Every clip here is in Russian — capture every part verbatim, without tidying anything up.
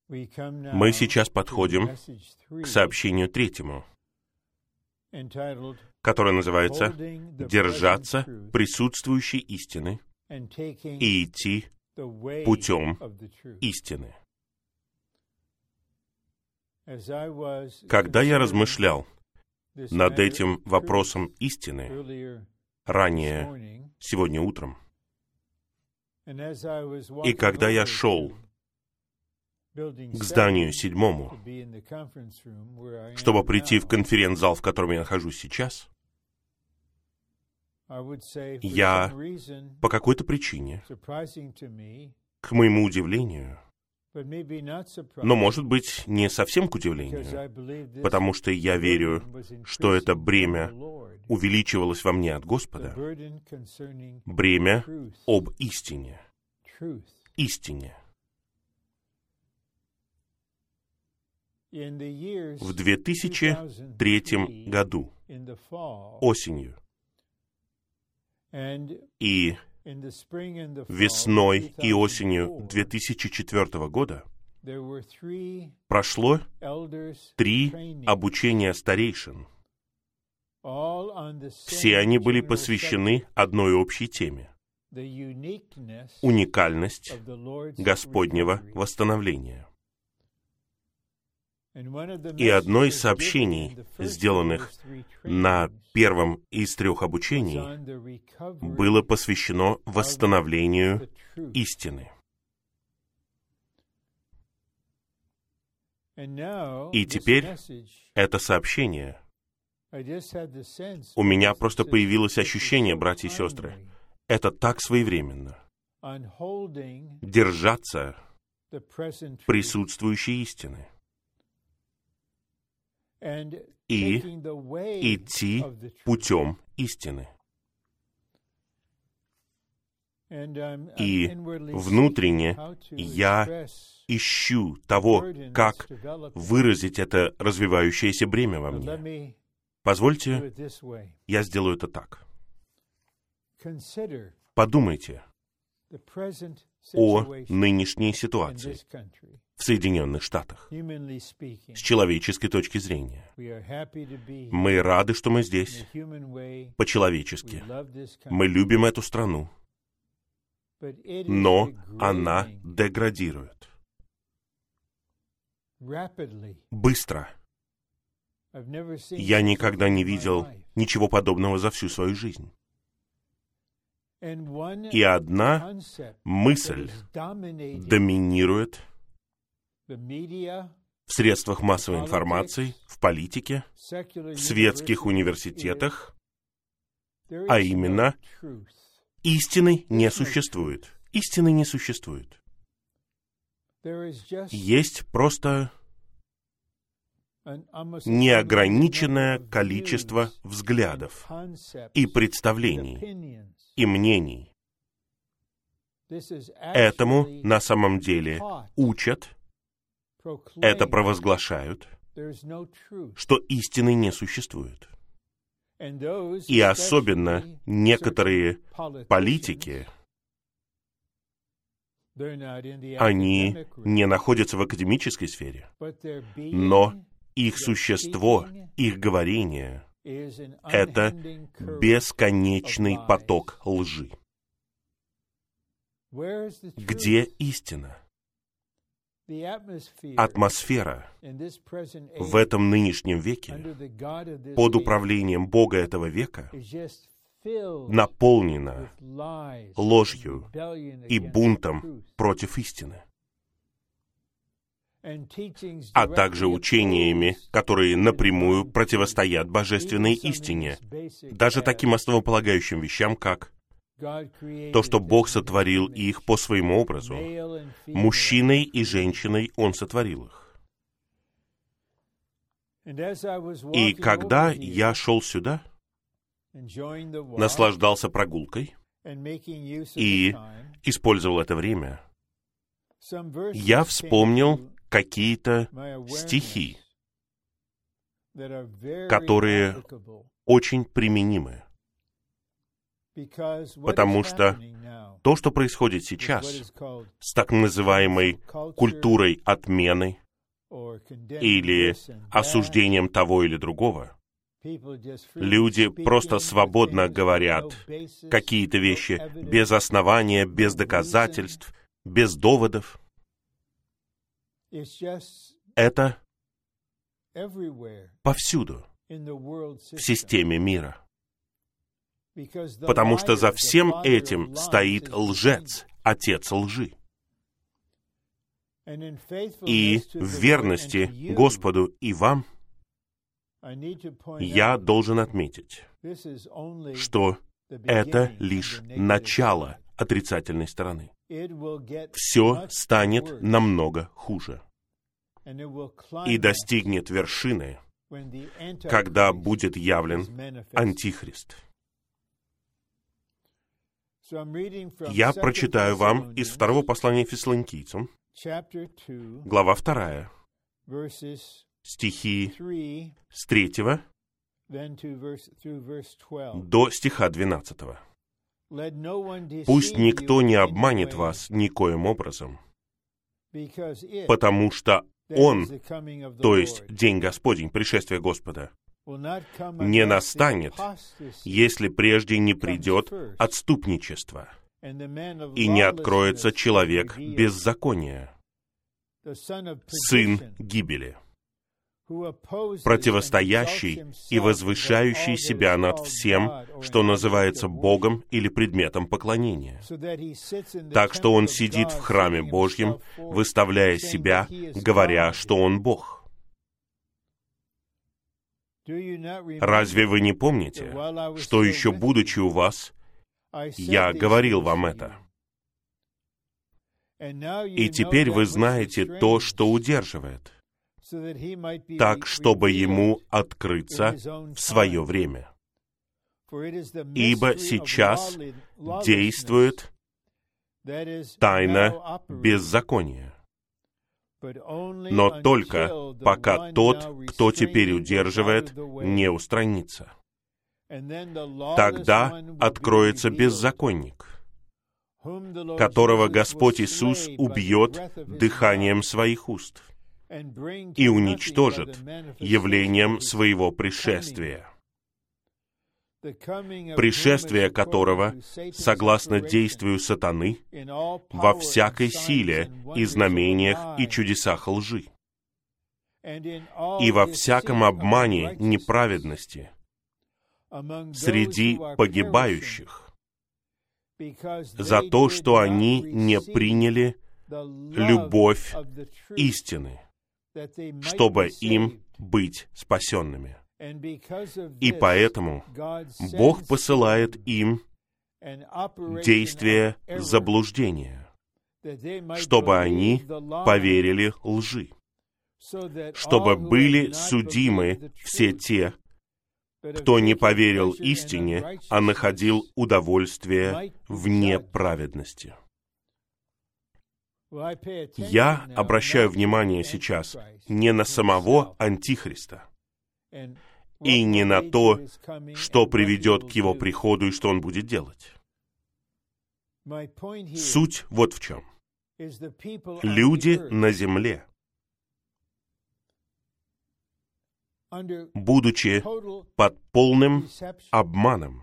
Мы сейчас подходим к сообщению третьему, которое называется «Держаться присутствующей истины и идти путем истины». Когда я размышлял над этим вопросом истины ранее, сегодня утром, и когда я шел к зданию седьмому, чтобы прийти в конференц-зал, в котором я нахожусь сейчас, я по какой-то причине, к моему удивлению, но, может быть, не совсем к удивлению, потому что я верю, что это бремя увеличивалось во мне от Господа, бремя об истине, истине. В две тысячи третьем году, осенью, и весной и осенью две тысячи четвёртого года прошло три обучения старейшин. Все они были посвящены одной общей теме — уникальность Господнего восстановления. И одно из сообщений, сделанных на первом из трех обучений, было посвящено восстановлению истины. И теперь это сообщение, у меня просто появилось ощущение, братья и сестры, это так своевременно. Держаться присутствующей истины и идти путем истины. И внутренне я ищу того, как выразить это развивающееся бремя во мне. Позвольте, я сделаю это так. Подумайте о нынешней ситуации в Соединенных Штатах с человеческой точки зрения. Мы рады, что мы здесь, по-человечески. Мы любим эту страну, но она деградирует. Быстро. Я никогда не видел ничего подобного за всю свою жизнь. И одна мысль доминирует в средствах массовой информации, в политике, в светских университетах, а именно, истины не существует. Истины не существует. Есть просто неограниченное количество взглядов и представлений, и мнений. Этому на самом деле учат, это провозглашают, что истины не существует. И особенно некоторые политики, они не находятся в академической сфере, но их существо, их говорение — это бесконечный поток лжи. Где истина? Атмосфера в этом нынешнем веке, под управлением Бога этого века, наполнена ложью и бунтом против истины, а также учениями, которые напрямую противостоят божественной истине, даже таким основополагающим вещам, как то, что Бог сотворил их по своему образу. Мужчиной и женщиной Он сотворил их. И когда я шел сюда, наслаждался прогулкой и использовал это время, я вспомнил какие-то стихи, которые очень применимы. Потому что то, что происходит сейчас с так называемой культурой отмены или осуждением того или другого, люди просто свободно говорят какие-то вещи без основания, без доказательств, без доводов. Это повсюду в системе мира. Потому что за всем этим стоит лжец, отец лжи. И в верности Господу и вам я должен отметить, что это лишь начало отрицательной стороны. Все станет намного хуже. И достигнет вершины, когда будет явлен Антихрист. Я прочитаю вам из второго послания Фессалоникийцам, глава вторая, стихи с третьего до стиха двенадцатого. «Пусть никто не обманет вас никоим образом, потому что Он, то есть День Господень, пришествие Господа, не настанет, если прежде не придет отступничество, и не откроется человек беззакония, сын гибели, противостоящий и возвышающий себя над всем, что называется Богом или предметом поклонения. Так что он сидит в храме Божьем, выставляя себя, говоря, что он Бог. Разве вы не помните, что еще будучи у вас, я говорил вам это? И теперь вы знаете то, что удерживает, так, чтобы ему открыться в свое время. Ибо сейчас действует тайна беззакония. Но только пока тот, кто теперь удерживает, не устранится. Тогда откроется беззаконник, которого Господь Иисус убьет дыханием своих уст и уничтожит явлением своего пришествия, пришествие которого, согласно действию сатаны, во всякой силе и знамениях и чудесах лжи, и во всяком обмане неправедности среди погибающих, за то, что они не приняли любовь истины, чтобы им быть спасенными. И поэтому Бог посылает им действие заблуждения, чтобы они поверили лжи, чтобы были судимы все те, кто не поверил истине, а находил удовольствие в неправедности. Я обращаю внимание сейчас не на самого Антихриста и не на то, что приведет к его приходу и что он будет делать. Суть вот в чем. Люди на земле, будучи под полным обманом,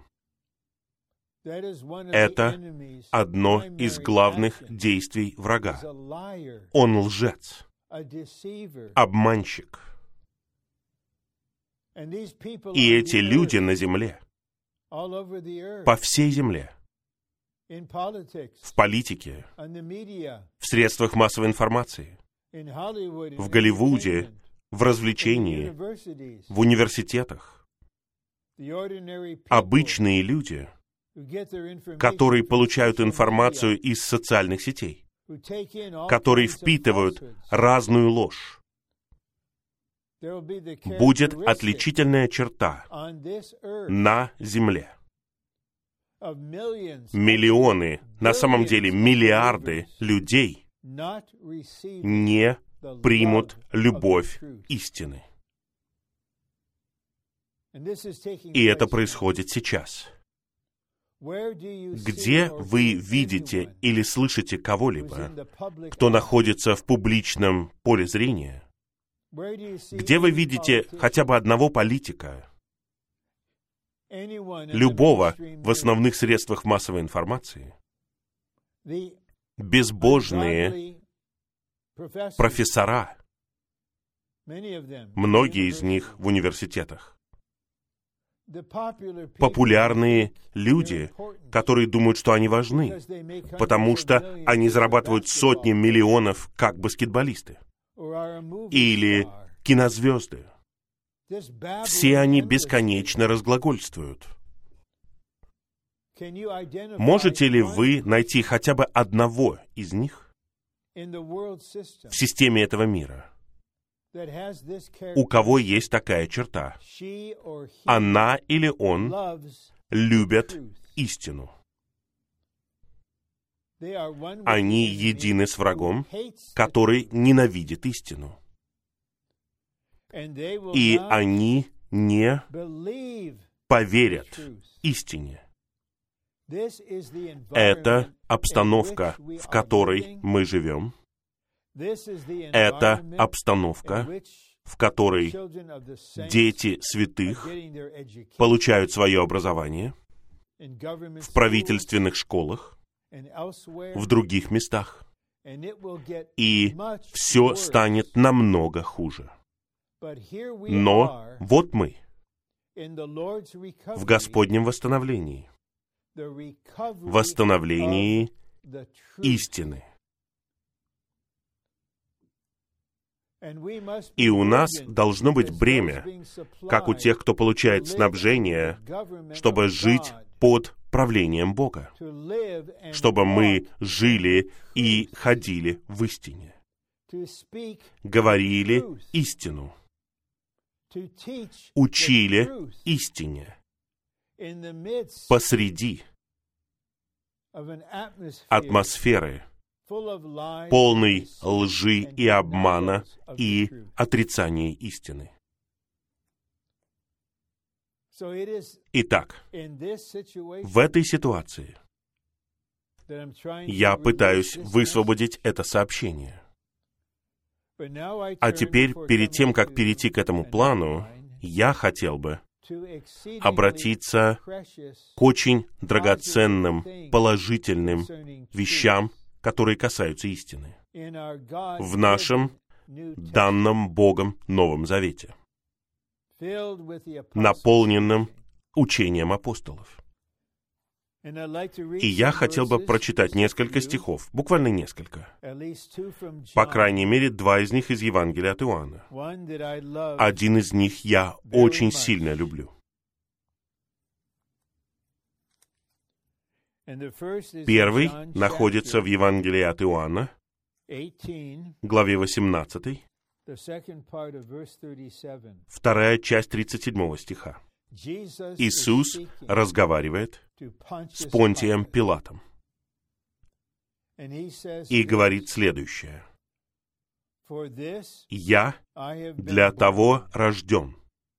это одно из главных действий врага. Он лжец, обманщик. И эти люди на земле, по всей земле, в политике, в средствах массовой информации, в Голливуде, в развлечении, в университетах, обычные люди, которые получают информацию из социальных сетей, которые впитывают разную ложь, будет отличительная черта на земле. Миллионы, на самом деле миллиарды людей не примут любовь истины. И это происходит сейчас. Где вы видите или слышите кого-либо, кто находится в публичном поле зрения? Где вы видите хотя бы одного политика, любого в основных средствах массовой информации? Безбожные профессора, многие из них в университетах. Популярные люди, которые думают, что они важны, потому что они зарабатывают сотни миллионов, как баскетболисты. Или кинозвезды. Все они бесконечно разглагольствуют. Можете ли вы найти хотя бы одного из них в системе этого мира, у кого есть такая черта? Она или он любят истину. Они едины с врагом, который ненавидит истину. И они не поверят истине. Это обстановка, в которой мы живем. Это обстановка, в которой дети святых получают свое образование в правительственных школах, в других местах. И все станет намного хуже. Но вот мы в Господнем восстановлении, восстановлении истины. И у нас должно быть бремя, как у тех, кто получает снабжение, чтобы жить под правлением Бога, чтобы мы жили и ходили в истине, говорили истину, учили истине посреди атмосферы, полной лжи и обмана и отрицания истины. Итак, в этой ситуации я пытаюсь высвободить это сообщение. А теперь, перед тем, как перейти к этому плану, я хотел бы обратиться к очень драгоценным, положительным вещам, которые касаются истины, в нашем данном Богом Новом Завете, наполненном учением апостолов. И я хотел бы прочитать несколько стихов, буквально несколько. По крайней мере, два из них из Евангелия от Иоанна. Один из них я очень сильно люблю. Первый находится в Евангелии от Иоанна, главе восемнадцатой, вторая часть тридцать седьмого стиха. Иисус разговаривает с Понтием Пилатом и говорит следующее: «Я для того рожден,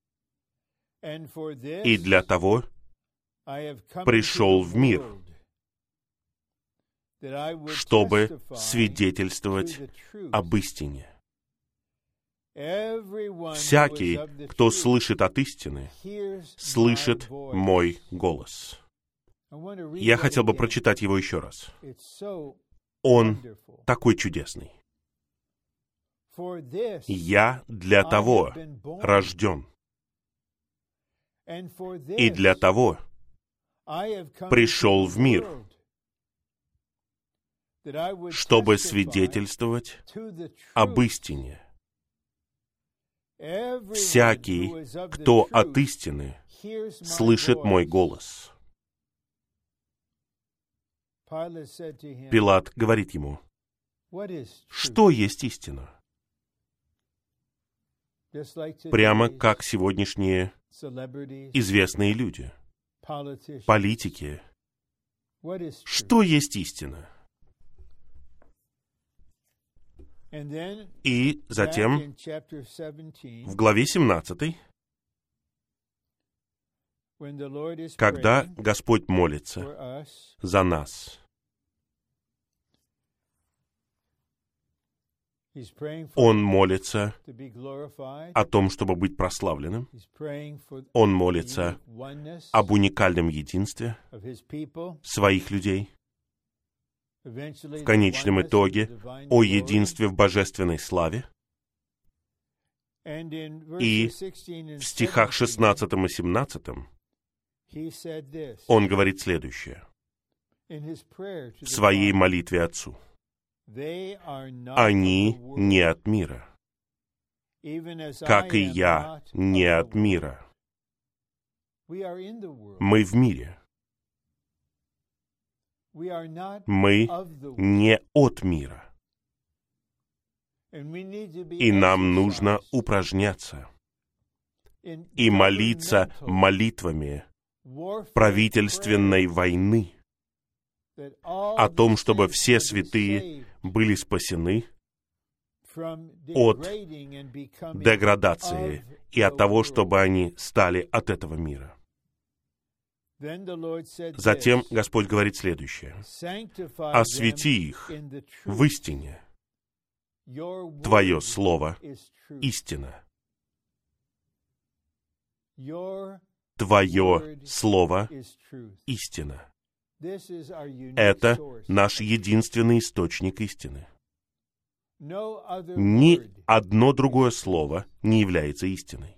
и для того пришел в мир, чтобы свидетельствовать об истине. Всякий, кто слышит от истины, слышит мой голос». Я хотел бы прочитать его еще раз. Он такой чудесный. «Я для того рожден, и для того пришел в мир, чтобы свидетельствовать об истине. Всякий, кто от истины, слышит мой голос». Пилат говорит ему: «Что есть истина?» Прямо как сегодняшние известные люди, политики. Что есть истина? И затем в главе семнадцатой, Когда Господь молится за нас, Он молится о том, чтобы быть прославленным. Он молится об уникальном единстве своих людей. В конечном итоге о единстве в божественной славе. И в стихах шестнадцатом и семнадцатом он говорит следующее в своей молитве Отцу. Они не от мира, как и я не от мира. Мы в мире. Мы не от мира. И нам нужно упражняться и молиться молитвами правительственной войны о том, чтобы все святые были спасены от деградации и от того, чтобы они стали от этого мира. Затем Господь говорит следующее. «Освети их в истине. Твое слово — истина». Твое слово — истина. Это наш единственный источник истины. Ни одно другое слово не является истиной.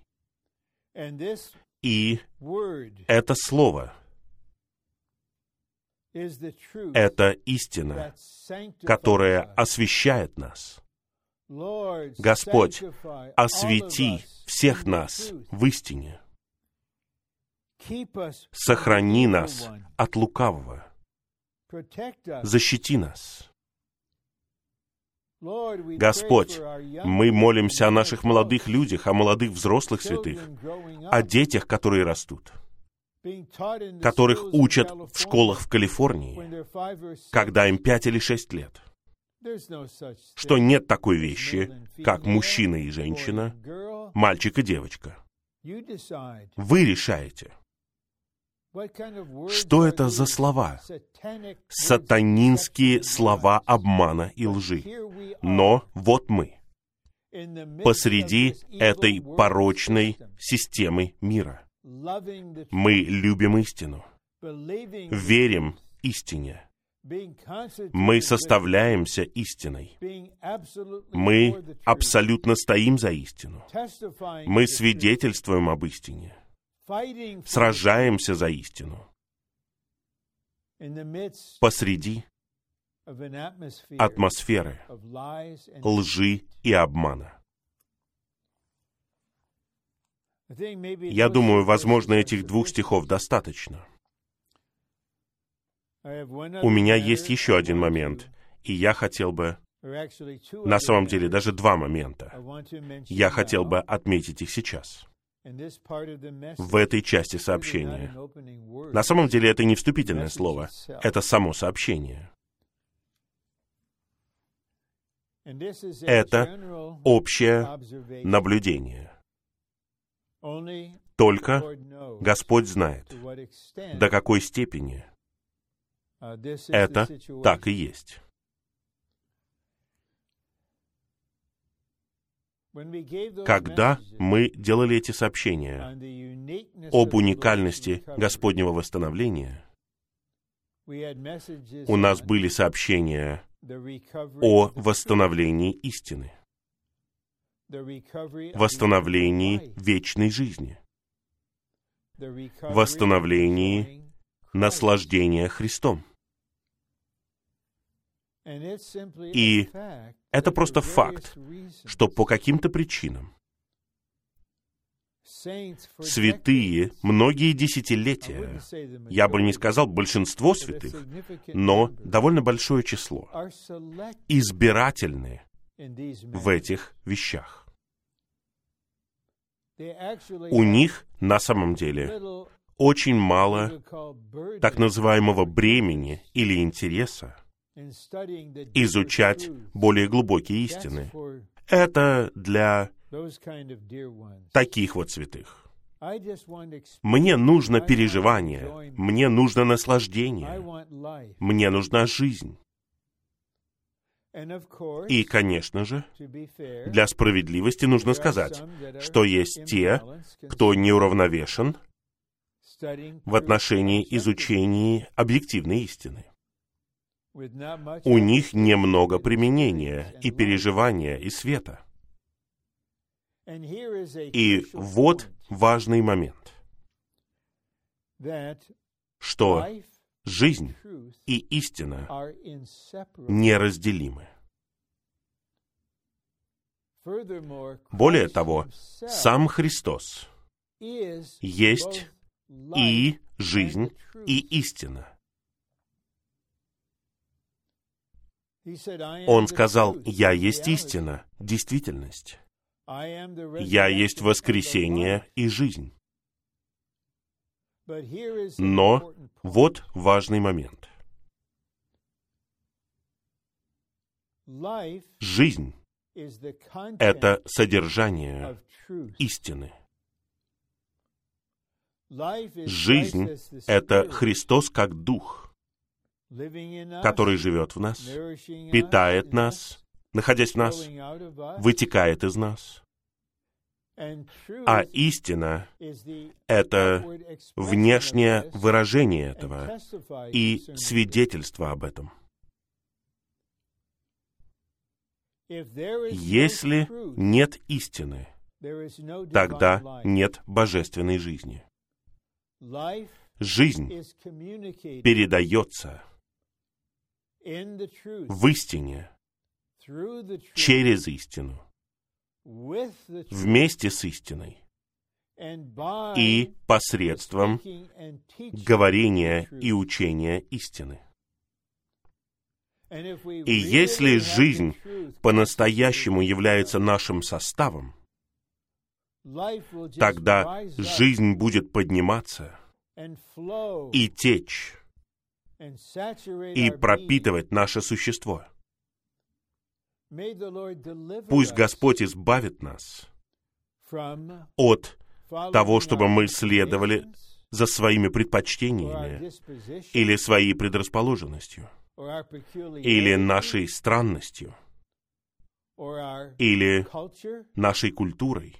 И это слово — это истина, которая освящает нас. Господь, освети всех нас в истине. Сохрани нас от лукавого. Защити нас. Господь, мы молимся о наших молодых людях, о молодых взрослых святых, о детях, которые растут, которых учат в школах в Калифорнии, когда им пять или шесть лет, что нет такой вещи, как мужчина и женщина, мальчик и девочка. Вы решаете. Что это за слова? Сатанинские слова обмана и лжи. Но вот мы, посреди этой порочной системы мира. Мы любим истину, верим истине. Мы составляемся истиной. Мы абсолютно стоим за истину. Мы свидетельствуем об истине. Сражаемся за истину посреди атмосферы лжи и обмана. Я думаю, возможно, этих двух стихов достаточно. У меня есть еще один момент, и я хотел бы, на самом деле, даже два момента. Я хотел бы отметить их сейчас. В этой части сообщения. На самом деле это не вступительное слово, это само сообщение. Это общее наблюдение. Только Господь знает, до какой степени это так и есть. Когда мы делали эти сообщения об уникальности Господнего восстановления, у нас были сообщения о восстановлении истины, восстановлении вечной жизни, восстановлении наслаждения Христом. И это просто факт, что по каким-то причинам святые многие десятилетия, я бы не сказал большинство святых, но довольно большое число, избирательны в этих вещах. У них на самом деле очень мало так называемого бремени или интереса изучать более глубокие истины. Это для таких вот святых. Мне нужно переживание, мне нужно наслаждение, мне нужна жизнь. И, конечно же, для справедливости нужно сказать, что есть те, кто неуравновешен в отношении изучения объективной истины. У них немного применения и переживания, и света. И вот важный момент, что жизнь и истина неразделимы. Более того, сам Христос есть и жизнь, и истина. Он сказал: «Я есть истина, действительность. Я есть воскресение и жизнь». Но вот важный момент. Жизнь — это содержание истины. Жизнь — это Христос как Дух, который живет в нас, питает нас, находясь в нас, вытекает из нас. А истина — это внешнее выражение этого и свидетельство об этом. Если нет истины, тогда нет божественной жизни. Жизнь передается в истине, через истину, вместе с истиной и посредством говорения и учения истины. И если жизнь по-настоящему является нашим составом, тогда жизнь будет подниматься и течь, и пропитывать наше существо. Пусть Господь избавит нас от того, чтобы мы следовали за своими предпочтениями или своей предрасположенностью, или нашей странностью, или нашей культурой,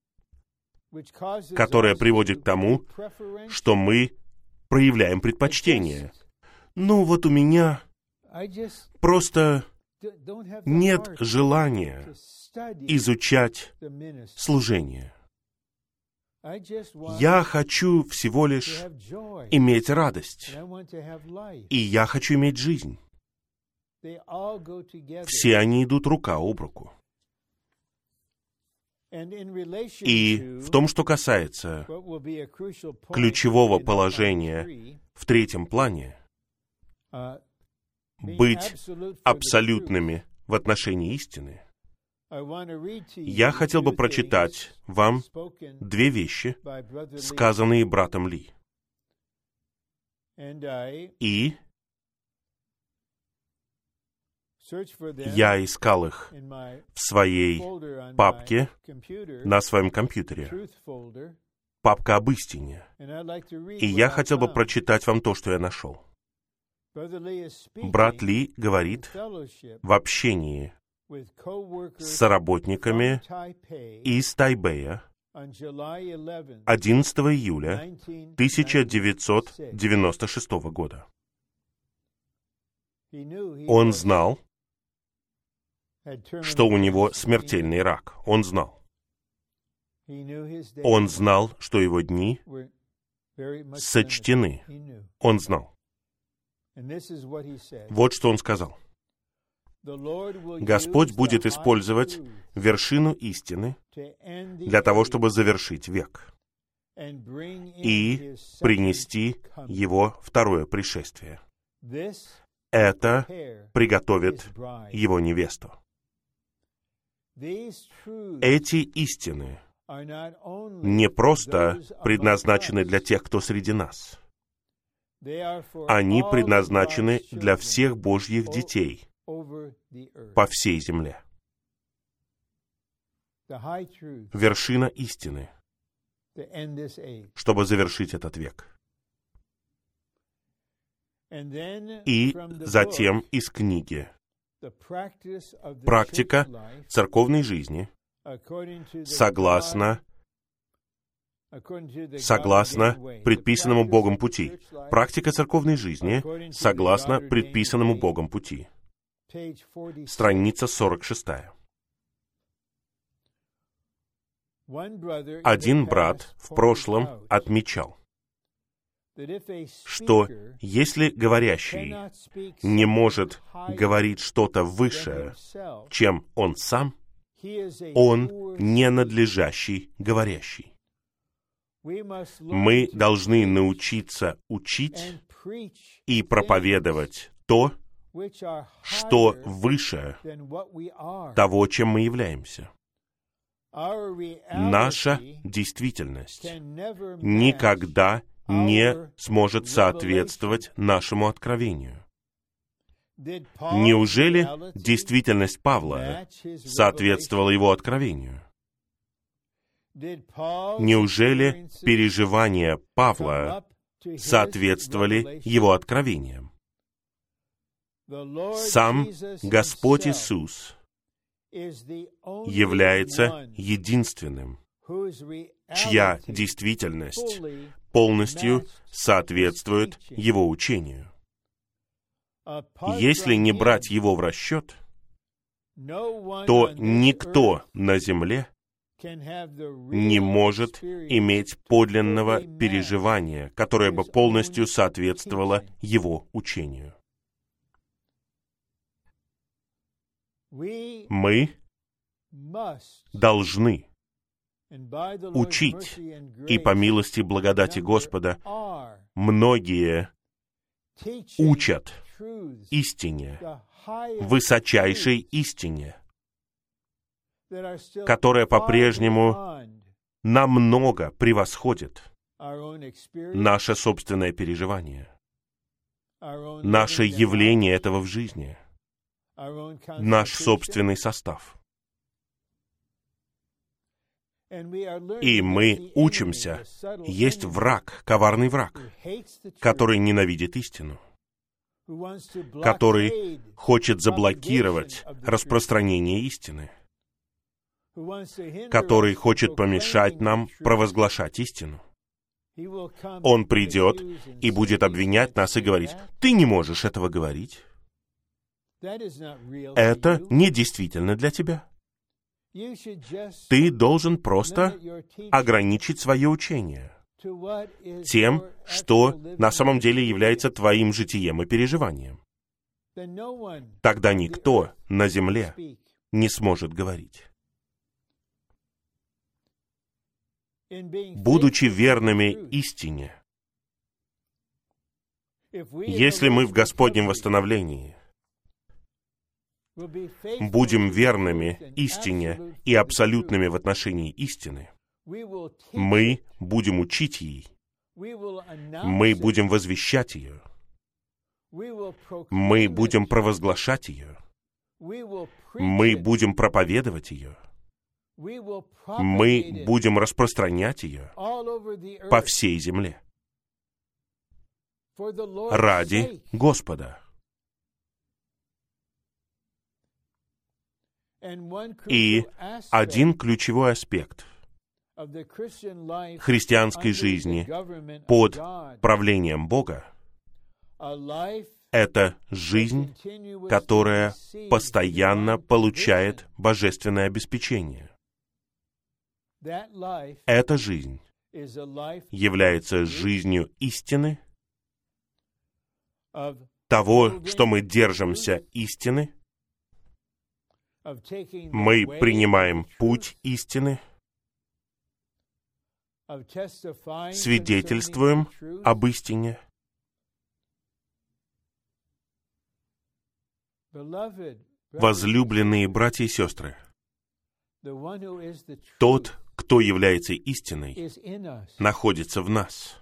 которая приводит к тому, что мы проявляем предпочтение. Ну вот у меня просто нет желания изучать служение. Я хочу всего лишь иметь радость, и я хочу иметь жизнь. Все они идут рука об руку. И в том, что касается ключевого положения в третьем плане, быть абсолютными в отношении истины, я хотел бы прочитать вам две вещи, сказанные братом Ли. И я искал их в своей папке на своем компьютере, папка об истине. И я хотел бы прочитать вам то, что я нашел. Брат Ли говорит в общении с соработниками из Тайбэя одиннадцатого июля тысяча девятьсот девяносто шестого года. Он знал, что у него смертельный рак. Он знал. Он знал, что его дни сочтены. Он знал. Вот что он сказал. Господь будет использовать вершину истины для того, чтобы завершить век и принести его второе пришествие. Это приготовит его невесту. Эти истины не просто предназначены для тех, кто среди нас. Они предназначены для всех Божьих детей по всей земле. Вершина истины чтобы завершить этот век. И затем из книги «Практика церковной жизни» согласно, согласно предписанному Богом пути. Практика церковной жизни согласно предписанному Богом пути. Страница сорок шесть. Один брат в прошлом отмечал, что если говорящий не может говорить что-то выше, чем он сам, он не надлежащий говорящий. Мы должны научиться учить и проповедовать то, что выше того, чем мы являемся. Наша действительность никогда не сможет соответствовать нашему откровению. Неужели действительность Павла соответствовала его откровению? Неужели переживания Павла соответствовали его откровениям? Сам Господь Иисус является единственным, чья действительность полностью соответствует его учению. Если не брать его в расчет, то никто на земле не может иметь подлинного переживания, которое бы полностью соответствовало его учению. Мы должны учить, и по милости и благодати Господа многие учат истине, высочайшей истине, которая по-прежнему намного превосходит наше собственное переживание, наше явление этого в жизни, наш собственный состав. И мы учимся. Есть враг, коварный враг, который ненавидит истину, который хочет заблокировать распространение истины, который хочет помешать нам провозглашать истину. Он придет и будет обвинять нас и говорить: «Ты не можешь этого говорить. Это не действительно для тебя. Ты должен просто ограничить свое учение тем, что на самом деле является твоим житием и переживанием. Тогда никто на земле не сможет говорить». Будучи верными истине, если мы в Господнем восстановлении будем верными истине и абсолютными в отношении истины, мы будем учить ей, мы будем возвещать ее, мы будем провозглашать ее, мы будем проповедовать ее, мы будем распространять ее по всей земле ради Господа. И один ключевой аспект христианской жизни под правлением Бога — это жизнь, которая постоянно получает божественное обеспечение. Эта жизнь является жизнью истины, того, что мы держимся истины, мы принимаем путь истины, свидетельствуем об истине. Возлюбленные братья и сестры, тот, кто является истиной, находится в нас.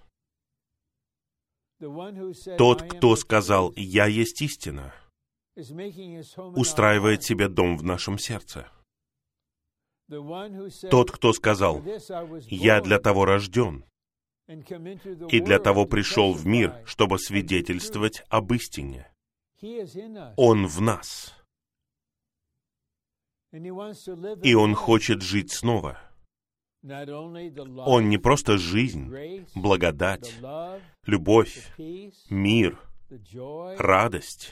Тот, кто сказал «Я есть истина», устраивает себе дом в нашем сердце. Тот, кто сказал: «Я для того рожден и для того пришел в мир, чтобы свидетельствовать об истине». Он в нас. И Он хочет жить снова. Он не просто жизнь, благодать, любовь, мир, радость,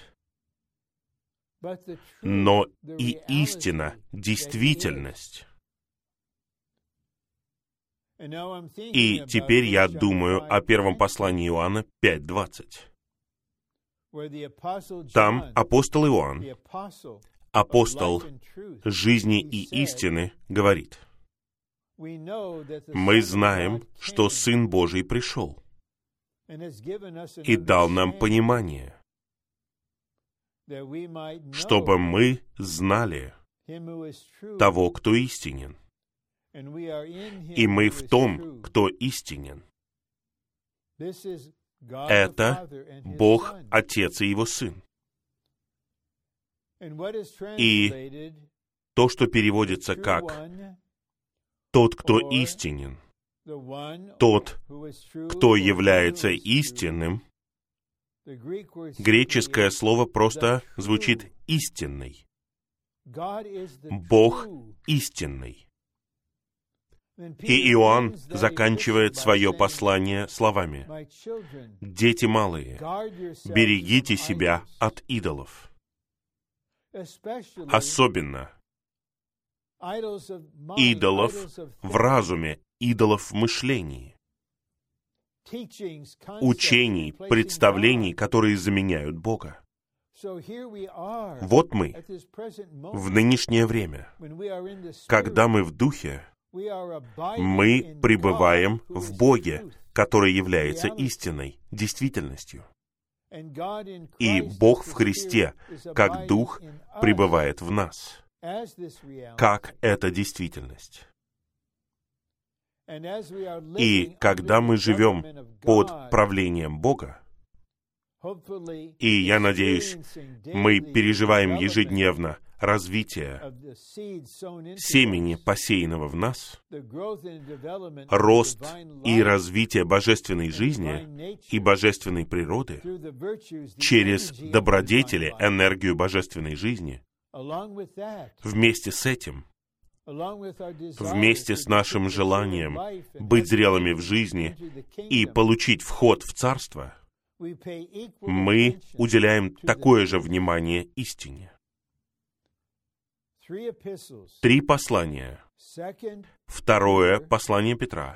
но и истина, действительность. И теперь я думаю о первом послании Иоанна пять двадцать. Там апостол Иоанн, апостол жизни и истины, говорит: «Мы знаем, что Сын Божий пришел и дал нам понимание, чтобы мы знали того, кто истинен, и мы в том, кто истинен». Это Бог, Отец и Его Сын. И то, что переводится как «тот, кто истинен», «тот, кто является истинным», греческое слово просто звучит «истинный». Бог истинный. И Иоанн заканчивает свое послание словами: «Дети малые, берегите себя от идолов». Особенно идолов в разуме, идолов в мышлении, учений, представлений, которые заменяют Бога. Вот мы в нынешнее время, когда мы в Духе, мы пребываем в Боге, который является истиной, действительностью. И Бог в Христе, как Дух, пребывает в нас, как эта действительность. И когда мы живем под правлением Бога, и я надеюсь, мы переживаем ежедневно развитие семени, посеянного в нас, рост и развитие божественной жизни и божественной природы через добродетели, энергию божественной жизни, вместе с этим, вместе с нашим желанием быть зрелыми в жизни и получить вход в Царство, мы уделяем такое же внимание истине. Три послания. Второе послание Петра.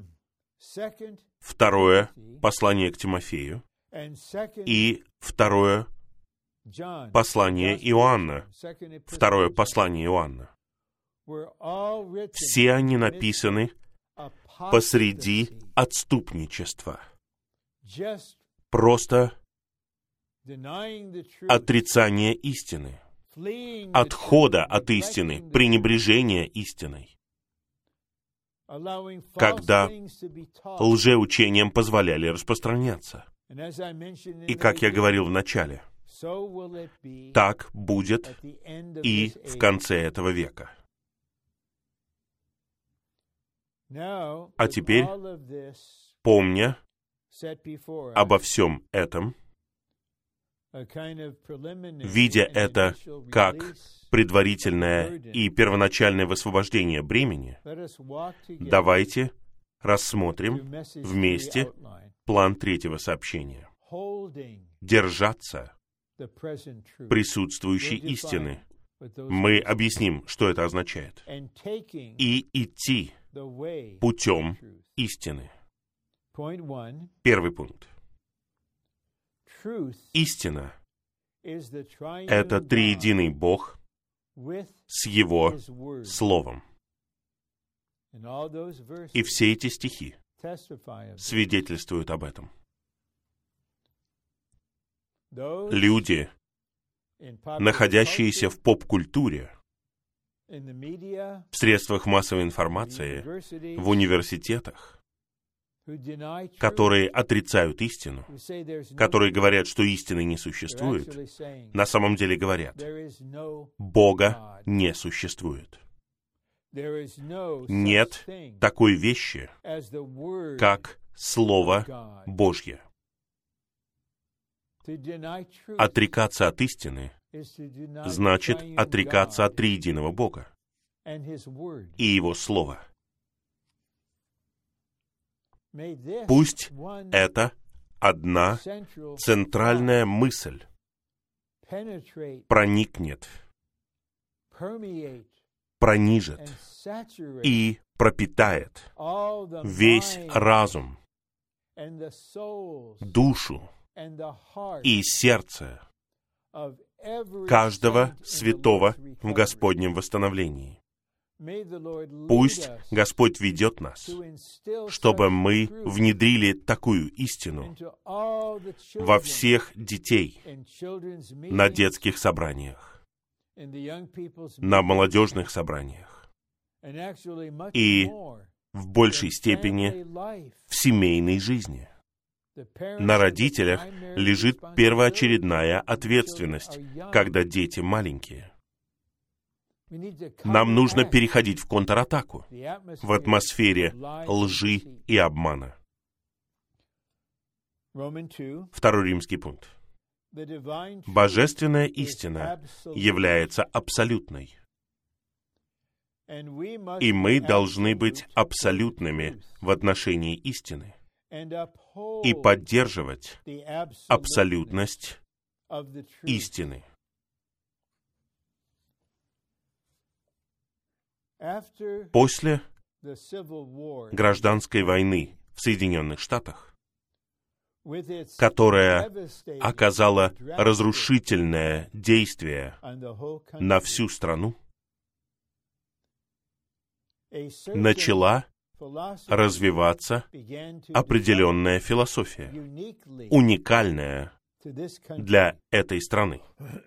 Второе послание к Тимофею. И второе послание Иоанна. Второе послание Иоанна. Все они написаны посреди отступничества. Просто отрицание истины, отхода от истины, пренебрежение истиной, когда лжеучениям позволяли распространяться. И, как я говорил в начале, так будет и в конце этого века. А теперь, помня обо всем этом, видя это как предварительное и первоначальное высвобождение бремени, давайте рассмотрим вместе план третьего сообщения. Держаться присутствующей истины. Мы объясним, что это означает. И идти путем истины. Первый пункт. Истина — это триединый Бог с Его Словом. И все эти стихи свидетельствуют об этом. Люди, находящиеся в поп-культуре, в средствах массовой информации, в университетах, которые отрицают истину, которые говорят, что истины не существует, на самом деле говорят: Бога не существует. Нет такой вещи, как Слово Божье. Отрекаться от истины значит отрекаться от триединого Бога и Его Слова. Пусть это одна центральная мысль проникнет, пронижит и пропитает весь разум, душу и сердце каждого святого в Господнем восстановлении. Пусть Господь ведет нас, чтобы мы внедрили такую истину во всех детей на детских собраниях, на молодежных собраниях и в большей степени в семейной жизни. На родителях лежит первоочередная ответственность, когда дети маленькие. Нам нужно переходить в контратаку в атмосфере лжи и обмана. Второй римский пункт. Божественная истина является абсолютной. И мы должны быть абсолютными в отношении истины и поддерживать абсолютность истины. После гражданской войны в Соединенных Штатах, которая оказала разрушительное действие на всю страну, начала развиваться определенная философия, уникальная для этой страны.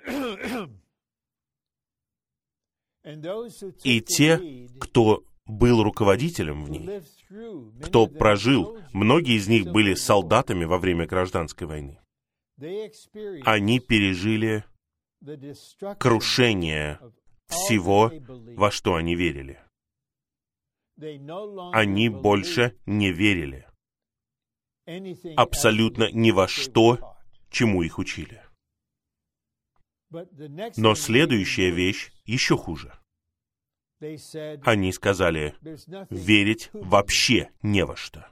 И те, кто был руководителем в ней, кто прожил, многие из них были солдатами во время гражданской войны, они пережили крушение всего, во что они верили. Они больше не верили абсолютно ни во что, чему их учили. Но следующая вещь еще хуже. Они сказали, верить вообще не во что.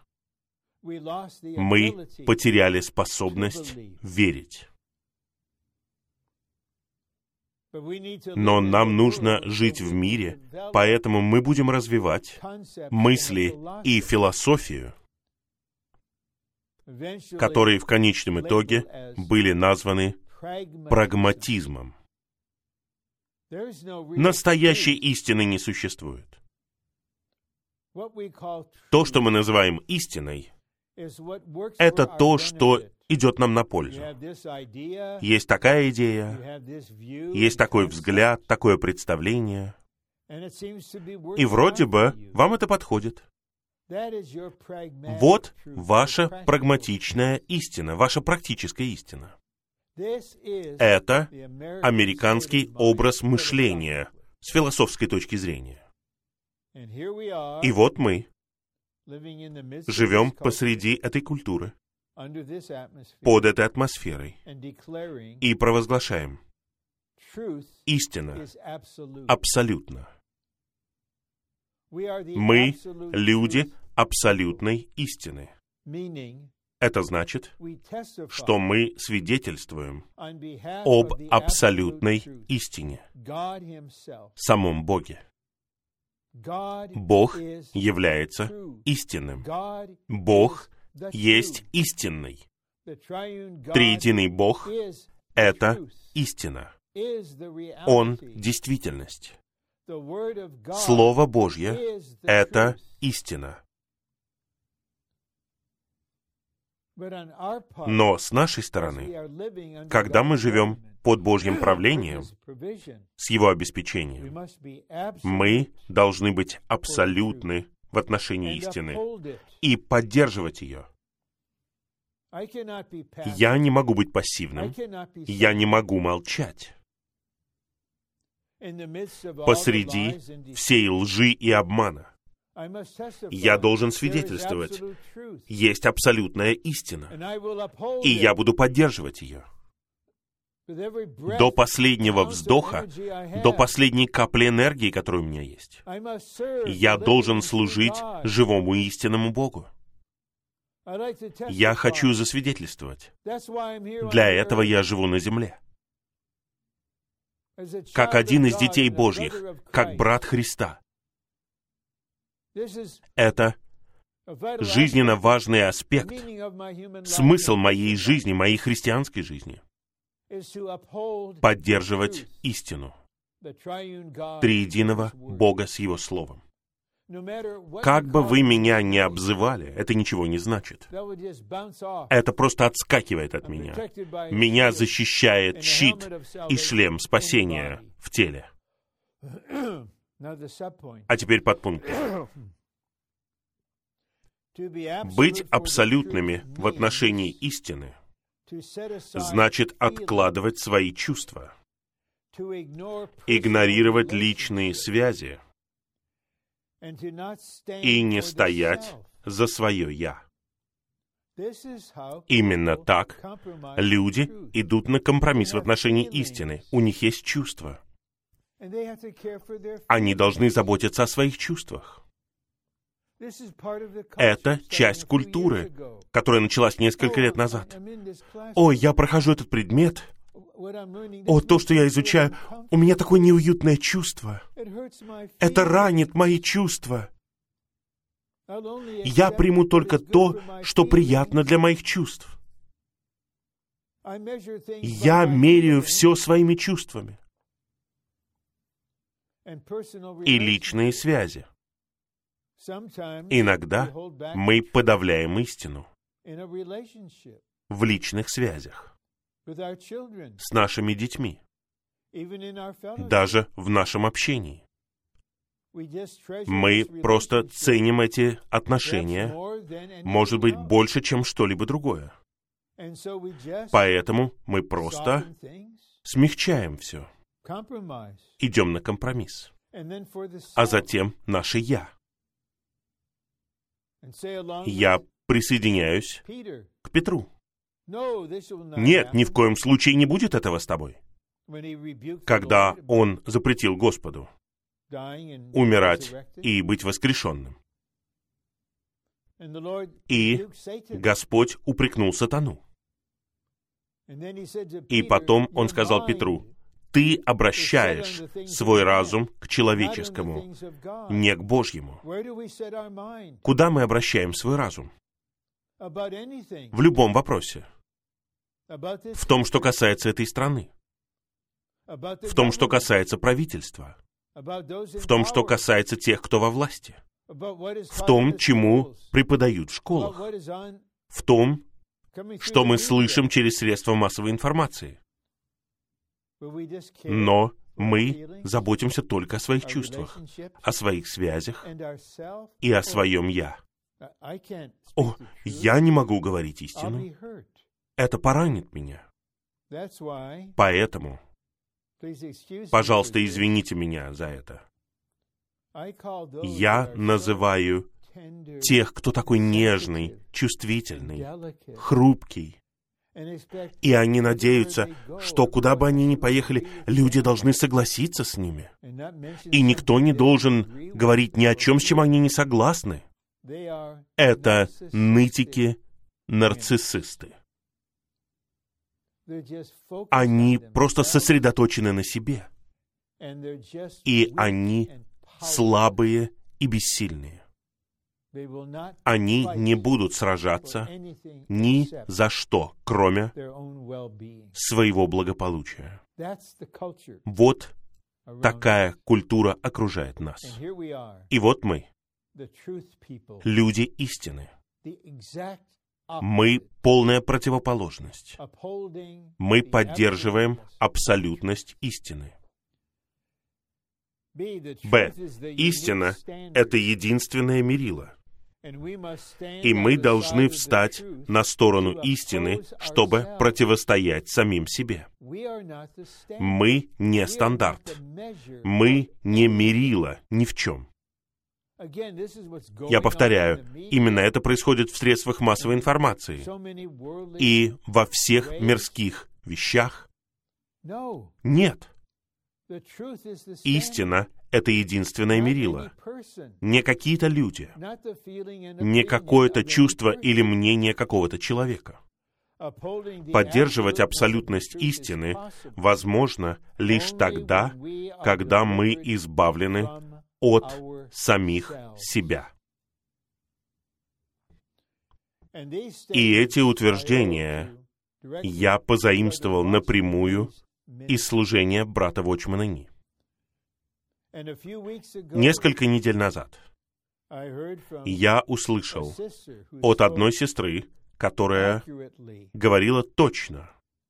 Мы потеряли способность верить. Но нам нужно жить в мире, поэтому мы будем развивать мысли и философию, которые в конечном итоге были названы прагматизмом. Настоящей истины не существует. То, что мы называем истиной, это то, что идет нам на пользу. Есть такая идея, есть такой взгляд, такое представление, и вроде бы вам это подходит. Вот ваша прагматичная истина, ваша практическая истина. Это американский образ мышления с философской точки зрения. И вот мы живем посреди этой культуры, под этой атмосферой, и провозглашаем: истина абсолютна. Мы люди абсолютной истины. Это значит, что мы свидетельствуем об абсолютной истине, самом Боге. Бог является истинным. Бог есть истинный. Триединый Бог — это истина. Он — действительность. Слово Божье — это истина. Но с нашей стороны, когда мы живем под Божьим правлением, с Его обеспечением, мы должны быть абсолютны в отношении истины и поддерживать ее. Я не могу быть пассивным, я не могу молчать. посреди всей лжи и обмана. Я должен свидетельствовать. Есть абсолютная истина. И я буду поддерживать ее. До последнего вздоха, до последней капли энергии, которая у меня есть. Я должен служить живому и истинному Богу. Я хочу засвидетельствовать. Для этого я живу на земле. Как один из детей Божьих, как брат Христа. Это жизненно важный аспект, смысл моей жизни, моей христианской жизни. Поддерживать истину триединого Бога с Его Словом. Как бы вы меня ни обзывали, это ничего не значит. Это просто отскакивает от меня. Меня защищает щит и шлем спасения в теле. А теперь подпункт. Быть абсолютными в отношении истины значит откладывать свои чувства, игнорировать личные связи и не стоять за свое «я». Именно так люди идут на компромисс в отношении истины. У них есть чувства. Они должны заботиться о своих чувствах. Это часть культуры, которая началась несколько лет назад. О, я прохожу этот предмет. О, то, что я изучаю, у меня такое неуютное чувство. Это ранит мои чувства. Я приму только то, что приятно для моих чувств. Я меряю все своими чувствами. И личные связи. Иногда мы подавляем истину в личных связях с нашими детьми, даже в нашем общении. Мы просто ценим эти отношения, может быть, больше, чем что-либо другое. Поэтому мы просто смягчаем все, идем на компромисс, а затем наше «я». Я присоединяюсь к Петру. Нет, ни в коем случае не будет этого с тобой. Когда он запретил Господу умирать и быть воскрешенным. И Господь упрекнул сатану. И потом он сказал Петру: ты обращаешь свой разум к человеческому, не к Божьему. Куда мы обращаем свой разум? В любом вопросе. В том, что касается этой страны. В том, что касается правительства. В том, что касается тех, кто во власти. В том, чему преподают в школах. В том, что мы слышим через средства массовой информации. Но мы заботимся только о своих чувствах, о своих связях и о своем «я». О, я не могу говорить истину. Это поранит меня. Поэтому, пожалуйста, извините меня за это. Я называю тех, кто такой нежный, чувствительный, хрупкий. И они надеются, что куда бы они ни поехали, люди должны согласиться с ними. И никто не должен говорить ни о чем, с чем они не согласны. Это нытики, нарциссисты. Они просто сосредоточены на себе. И они слабые и бессильные. Они не будут сражаться ни за что, кроме своего благополучия. Вот такая культура окружает нас. И вот мы, люди истины. Мы полная противоположность. Мы поддерживаем абсолютность истины. Б. Истина — это единственное мерило. И мы должны встать на сторону истины, чтобы противостоять самим себе. Мы не стандарт. Мы не мерило ни в чем. Я повторяю, именно это происходит в средствах массовой информации и во всех мирских вещах. Нет. Истина — это единственное мерило. Не какие-то люди, не какое-то чувство или мнение какого-то человека. Поддерживать абсолютность истины возможно лишь тогда, когда мы избавлены от самих себя. И эти утверждения я позаимствовал напрямую из служения брата Watchman Nee. Несколько недель назад я услышал от одной сестры, которая говорила точно.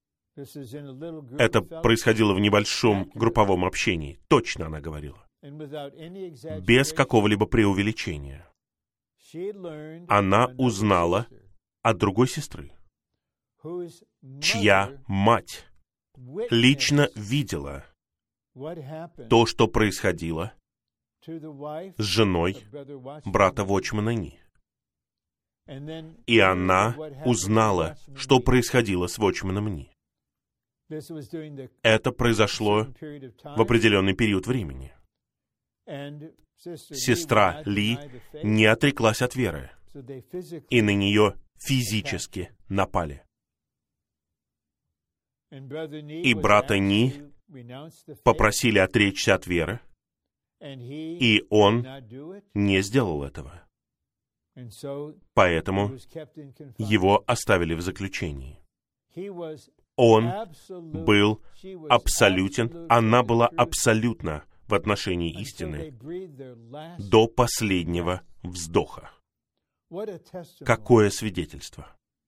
Это происходило в небольшом групповом общении. Точно она говорила. Без какого-либо преувеличения. Она узнала от другой сестры, чья мать лично видела то, что происходило с женой брата Watchman Nee. И она узнала, что происходило с Watchman Nee. Это произошло в определенный период времени. Сестра Ли не отреклась от веры, и на нее физически напали. И брата Ни попросили отречься от веры, и он не сделал этого. Поэтому его оставили в заключении. Он был абсолютен, она была абсолютна в отношении истины до последнего вздоха. Какое свидетельство!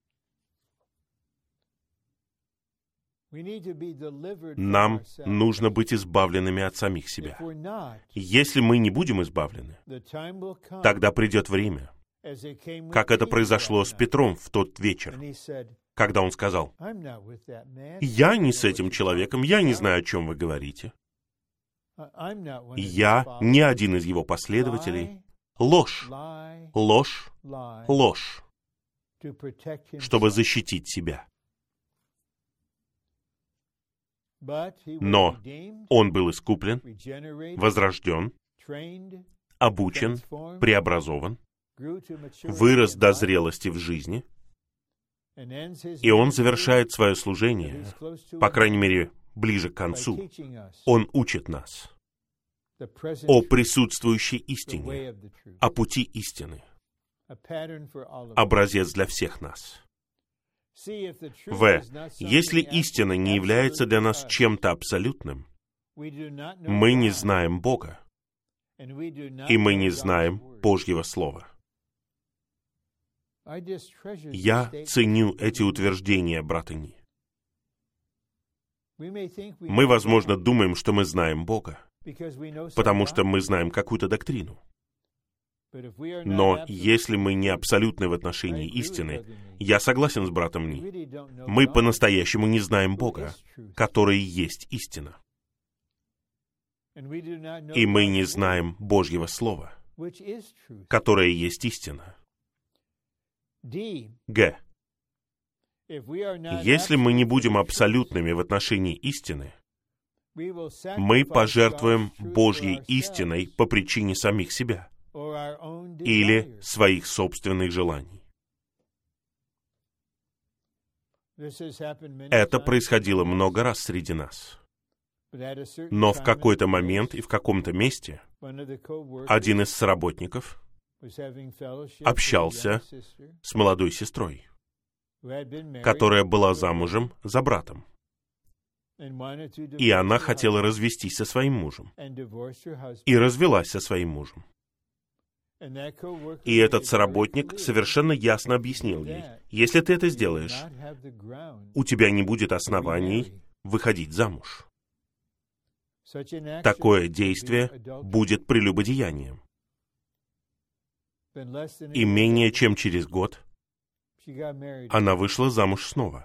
Нам нужно быть избавленными от самих себя. Если мы не будем избавлены, тогда придет время, как это произошло с Петром в тот вечер, когда он сказал: «Я не с этим человеком, я не знаю, о чем вы говорите. Я не один из его последователей». Ложь, ложь, ложь, чтобы защитить себя. Но он был искуплен, возрожден, обучен, преобразован, вырос до зрелости в жизни, и он завершает свое служение, по крайней мере, ближе к концу. Он учит нас о присутствующей истине, о пути истины, образец для всех нас. В. Если истина не является для нас чем-то абсолютным, мы не знаем Бога, и мы не знаем Божьего Слова. Я ценю эти утверждения брата Ни. Мы, возможно, думаем, что мы знаем Бога, потому что мы знаем какую-то доктрину. Но если мы не абсолютны в отношении истины, я согласен с братом Ни, мы по-настоящему не знаем Бога, который есть истина. И мы не знаем Божьего Слова, которое есть истина. Г. Если мы не будем абсолютными в отношении истины, мы пожертвуем Божьей истиной по причине самих себя или своих собственных желаний. Это происходило много раз среди нас. Но в какой-то момент и в каком-то месте один из соработников общался с молодой сестрой, которая была замужем за братом. И она хотела развестись со своим мужем. И развелась со своим мужем. И этот соработник совершенно ясно объяснил ей: если ты это сделаешь, у тебя не будет оснований выходить замуж. Такое действие будет прелюбодеянием. И менее чем через год она вышла замуж снова.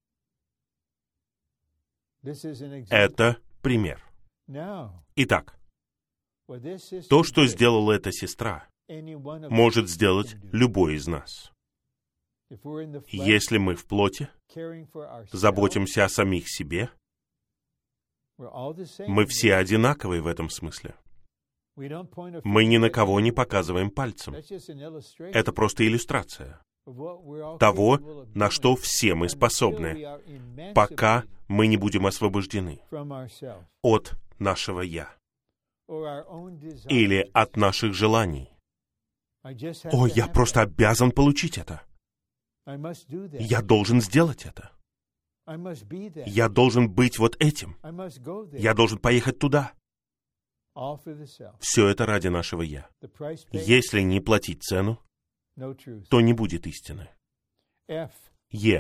Это пример. Итак, то, что сделала эта сестра, может сделать любой из нас. Если мы в плоти, заботимся о самих себе, мы все одинаковые в этом смысле. Мы ни на кого не показываем пальцем. Это просто иллюстрация того, на что все мы способны, пока мы не будем освобождены от нашего «я» или от наших желаний. О, я просто обязан получить это. Я должен сделать это. Я должен быть вот этим. Я должен поехать туда. Все это ради нашего «я». Если не платить цену, то не будет истины. Е.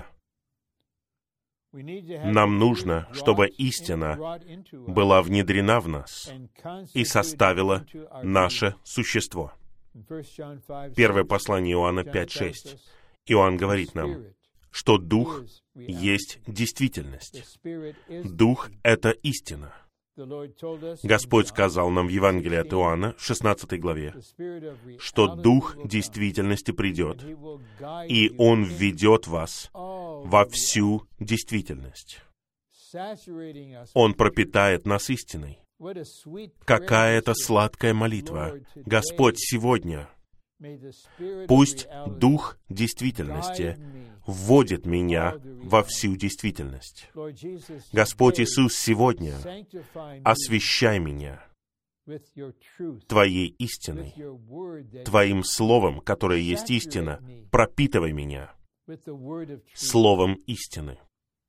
Нам нужно, чтобы истина была внедрена в нас и составила наше существо. Первое послание Иоанна пять шесть. Иоанн говорит нам, что Дух есть действительность. Дух — это истина. Господь сказал нам в Евангелии от Иоанна, шестнадцатой главе, что Дух действительности придет, и Он введет вас во всю действительность. Он пропитает нас истиной. Какая это сладкая молитва! Господь, сегодня пусть Дух действительности вводит меня во всю действительность. Господь Иисус, сегодня освящай меня Твоей истиной, Твоим Словом, которое есть истина, пропитывай меня Словом истины.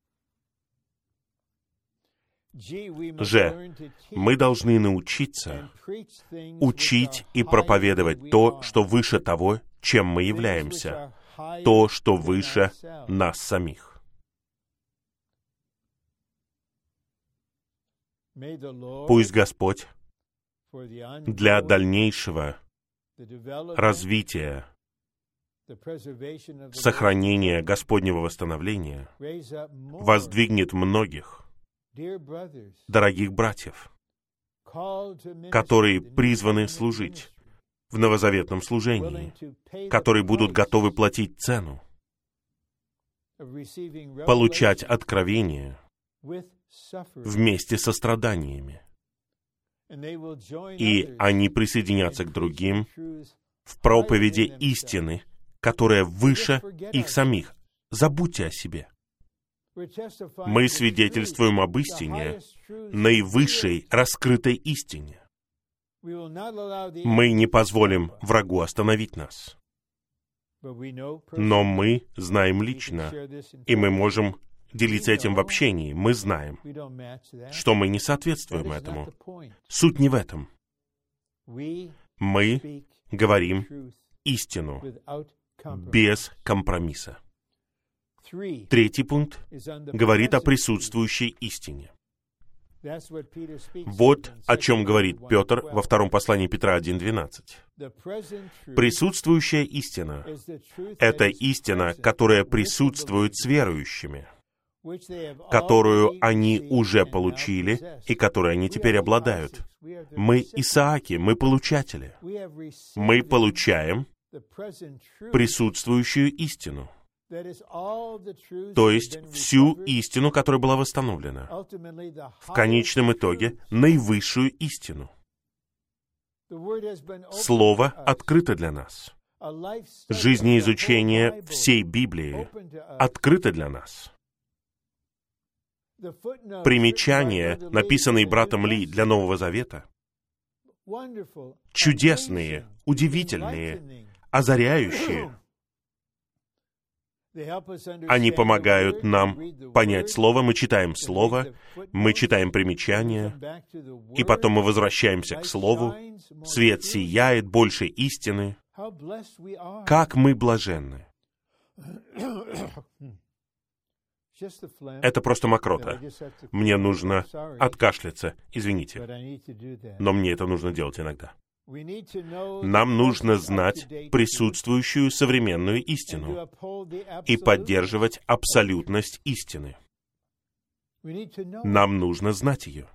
Ж. Мы должны научиться учить и проповедовать то, что выше того, чем мы являемся, то, что выше нас самих. Пусть Господь для дальнейшего развития, сохранения Господнего восстановления воздвигнет многих дорогих братьев, которые призваны служить в новозаветном служении, которые будут готовы платить цену, получать откровение вместе со страданиями. И они присоединятся к другим в проповеди истины, которая выше их самих. Забудьте о себе. Мы свидетельствуем об истине, наивысшей раскрытой истине. Мы не позволим врагу остановить нас. Но мы знаем лично, и мы можем делиться этим в общении. Мы знаем, что мы не соответствуем этому. Суть не в этом. Мы говорим истину без компромисса. Третий пункт говорит о присутствующей истине. Вот о чем говорит Петр во втором послании Петра один двенадцать. Присутствующая истина — это истина, которая присутствует с верующими, которую они уже получили и которой они теперь обладают. Мы Исааки, мы получатели. Мы получаем присутствующую истину. То есть всю истину, которая была восстановлена. В конечном итоге наивысшую истину. Слово открыто для нас. Жизнеизучение всей Библии открыто для нас. Примечания, написанные братом Ли для Нового Завета, чудесные, удивительные, озаряющие. Они помогают нам понять Слово, мы читаем Слово, мы читаем примечания, и потом мы возвращаемся к Слову. Свет сияет, больше истины. Как мы блаженны! Это просто мокрота. Мне нужно откашляться, извините. Но мне это нужно делать иногда. Нам нужно знать присутствующую современную истину и поддерживать абсолютность истины. Нам нужно знать ее.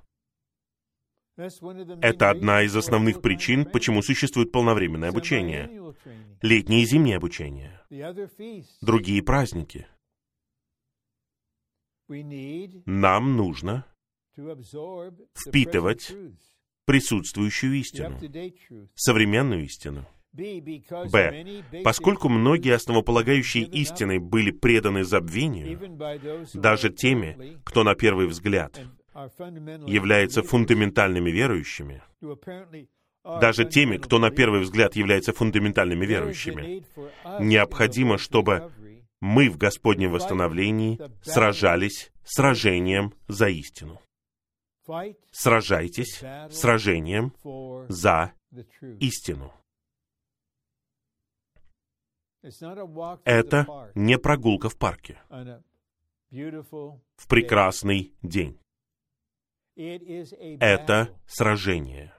Это одна из основных причин, почему существует полновременное обучение, летнее и зимнее обучение, другие праздники. Нам нужно впитывать присутствующую истину, современную истину. Б. Поскольку многие основополагающие истины были преданы забвению, даже теми, кто на первый взгляд является фундаментальными верующими, даже теми, кто на первый взгляд является фундаментальными верующими, необходимо, чтобы мы в Господнем восстановлении сражались сражением за истину. Сражайтесь сражением за истину. Это не прогулка в парке в прекрасный день. Это сражение.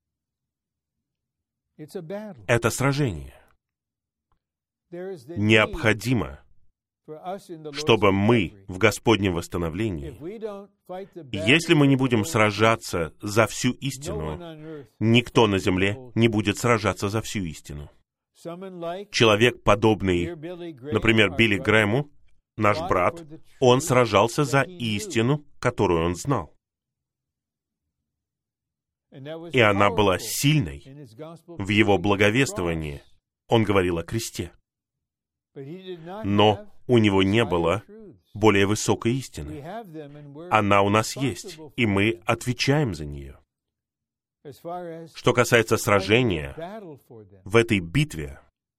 Это сражение. Необходимо, чтобы мы в Господнем восстановлении, если мы не будем сражаться за всю истину, никто на земле не будет сражаться за всю истину. Человек, подобный, например, Билли Грэму, наш брат, он сражался за истину, которую он знал. И она была сильной в его благовествовании. Он говорил о кресте. Но у него не было более высокой истины. Она у нас есть, и мы отвечаем за нее. Что касается сражения в этой битве,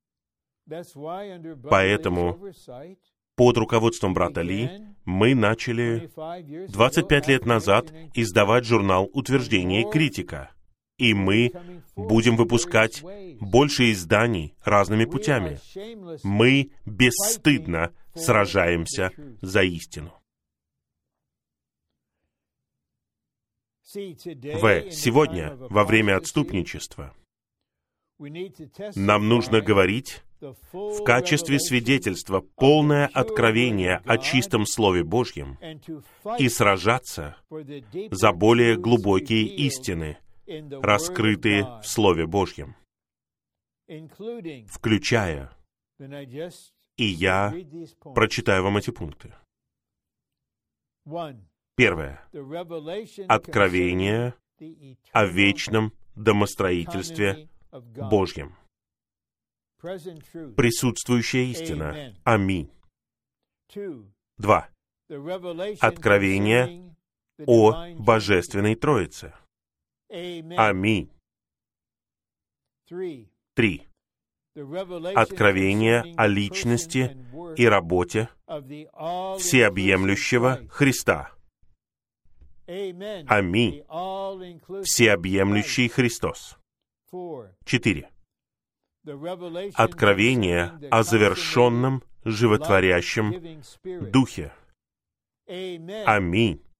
поэтому под руководством брата Ли мы начали двадцать пять лет назад издавать журнал «Утверждение и критика». И мы будем выпускать больше изданий разными путями. Мы бесстыдно сражаемся за истину. В. Сегодня, во время отступничества, нам нужно говорить в качестве свидетельства полное откровение о чистом Слове Божьем и сражаться за более глубокие истины, раскрытые в Слове Божьем, включая, и я прочитаю вам эти пункты. Первое. Откровение о вечном домостроительстве Божьем. Присутствующая истина. Аминь. Два. Откровение о Божественной Троице. Аминь. Три. Откровение о личности и работе всеобъемлющего Христа. Аминь. Всеобъемлющий Христос. Четыре. Откровение о завершенном животворящем Духе. Аминь.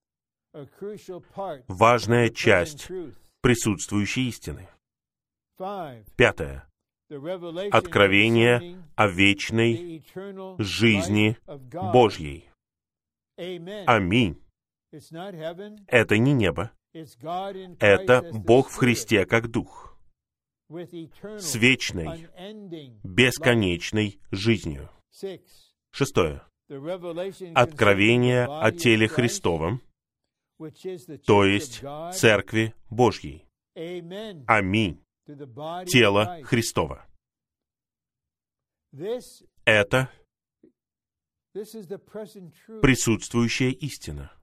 Важная часть присутствующей истины. Пятое. Откровение о вечной жизни Божьей. Аминь. Это не небо. Это Бог в Христе как Дух, с вечной, бесконечной жизнью. Шестое. Откровение о теле Христовом, то есть Церкви Божьей. Аминь. Тело Христово. Это присутствующая истина.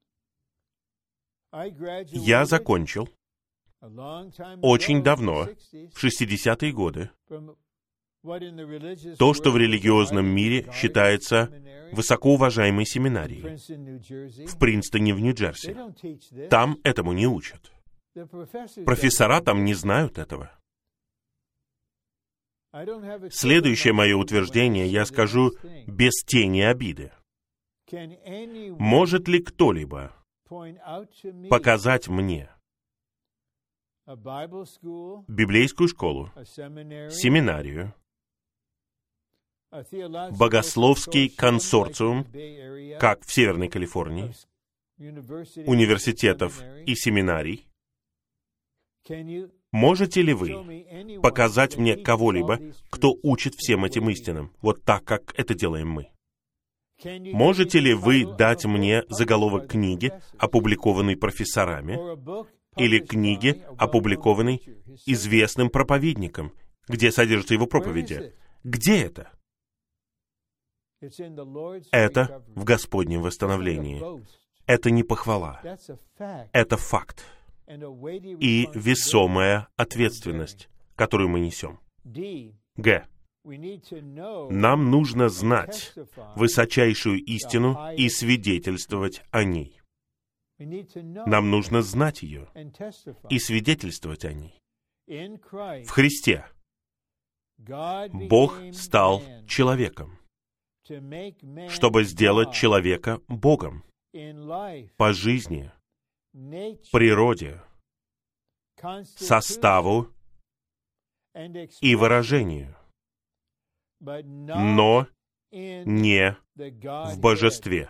Я закончил очень давно, в шестидесятые годы, то, что в религиозном мире считается высокоуважаемой семинарией в Принстоне, в Нью-Джерси. Там этому не учат. Профессора там не знают этого. Следующее мое утверждение я скажу без тени обиды. Может ли кто-либо показать мне библейскую школу, семинарию, богословский консорциум, как в Северной Калифорнии, университетов и семинарий. Можете ли вы показать мне кого-либо, кто учит всем этим истинам, вот так, как это делаем мы? Можете ли вы дать мне заголовок книги, опубликованной профессорами, или книги, опубликованной известным проповедником, где содержатся его проповеди? Где это? Это в Господнем восстановлении. Это не похвала. Это факт. И весомая ответственность, которую мы несем. Г. Нам нужно знать высочайшую истину и свидетельствовать о ней. Нам нужно знать ее и свидетельствовать о ней. В Христе Бог стал человеком, чтобы сделать человека Богом по жизни, природе, составу и выражению, но не в божестве,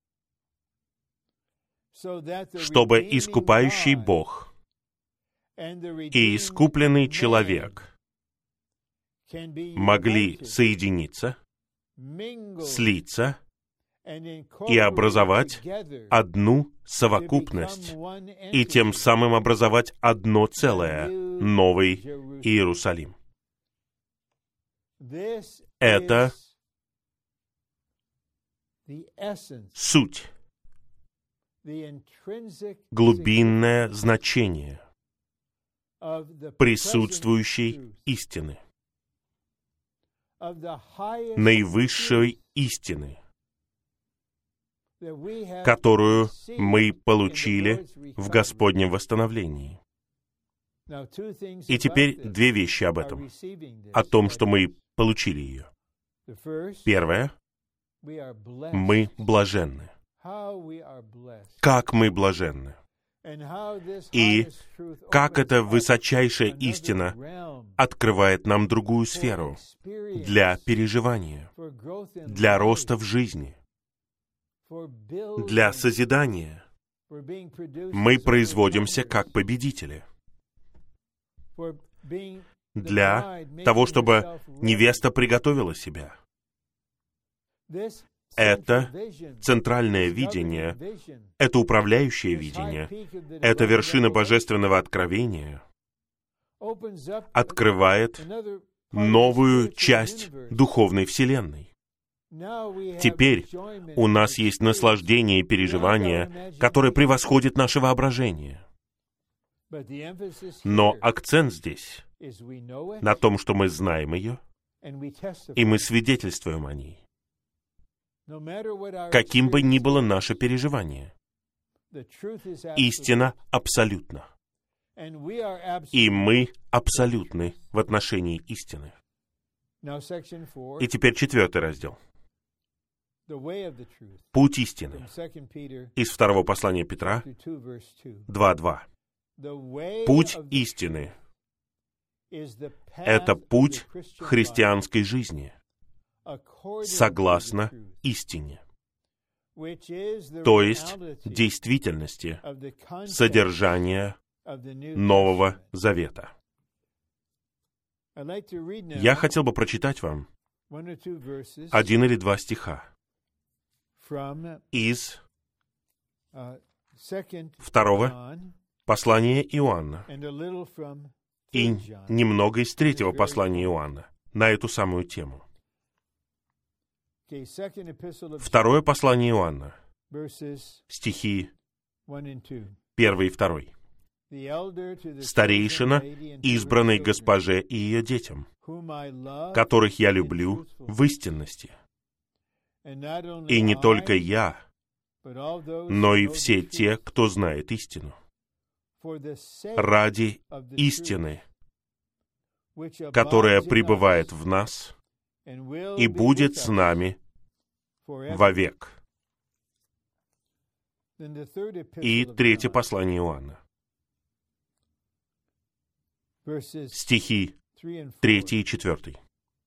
чтобы искупающий Бог и искупленный человек могли соединиться, слиться и образовать одну совокупность, и тем самым образовать одно целое, Новый Иерусалим. Это суть, глубинное значение присутствующей истины, наивысшей истины, которую мы получили в Господнем восстановлении. И теперь две вещи об этом, о том, что мы получили ее. Первое. Мы блаженны. Как мы блаженны. И как эта высочайшая истина открывает нам другую сферу для переживания, для роста в жизни, для созидания. Мы производимся как победители. Для того, чтобы невеста приготовила себя. Это центральное видение, это управляющее видение, это вершина божественного откровения, открывает новую часть духовной вселенной. Теперь у нас есть наслаждение и переживание, которое превосходит наше воображение. Но акцент здесь на том, что мы знаем ее, и мы свидетельствуем о ней. Каким бы ни было наше переживание, истина абсолютна. И мы абсолютны в отношении истины. И теперь четвертый раздел. Путь истины. Из второго послания Петра, два два. Путь истины — это путь христианской жизни, согласно истине, то есть действительности, содержания Нового Завета. Я хотел бы прочитать вам один или два стиха из второго послания Иоанна и немного из третьего послания Иоанна на эту самую тему. Второе послание Иоанна, стихи первый и второй. «Старейшина, избранной госпоже и ее детям, которых я люблю в истинности. И не только я, но и все те, кто знает истину. Ради истины, которая пребывает в нас и будет с нами вовек». И третье послание Иоанна. стихи третий и четвертый.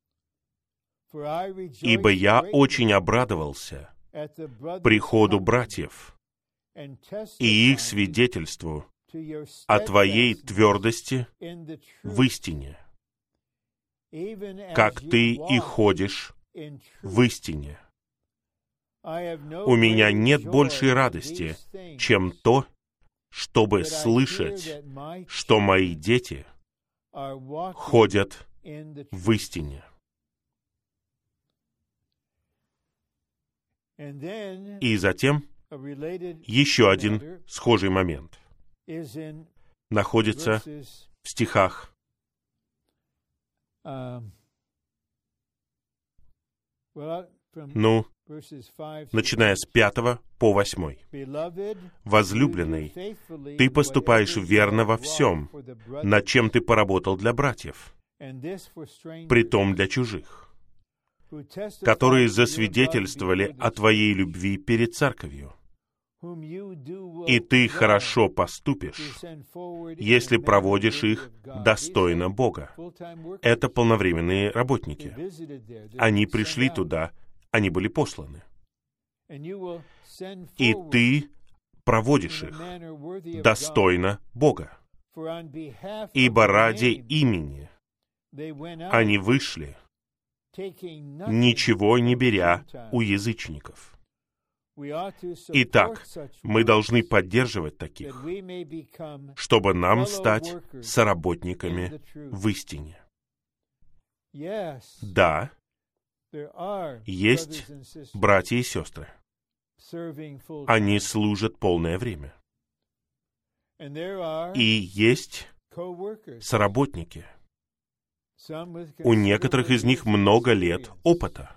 «Ибо я очень обрадовался приходу братьев и их свидетельству о Твоей твердости в истине, как Ты и ходишь в истине. У меня нет большей радости, чем то, чтобы слышать, что мои дети ходят в истине». И затем еще один схожий момент находится в стихах ну, начиная с пятого по восьмой. «Возлюбленный, ты поступаешь верно во всем, над чем ты поработал для братьев, притом для чужих, которые засвидетельствовали о твоей любви перед церковью. И ты хорошо поступишь, если проводишь их достойно Бога». Это полновременные работники. Они пришли туда, они были посланы. И ты проводишь их достойно Бога. Ибо ради имени они вышли, ничего не беря у язычников. Итак, мы должны поддерживать таких, чтобы нам стать соработниками в истине. Да, есть братья и сестры. Они служат полное время. И есть соработники. У некоторых из них много лет опыта.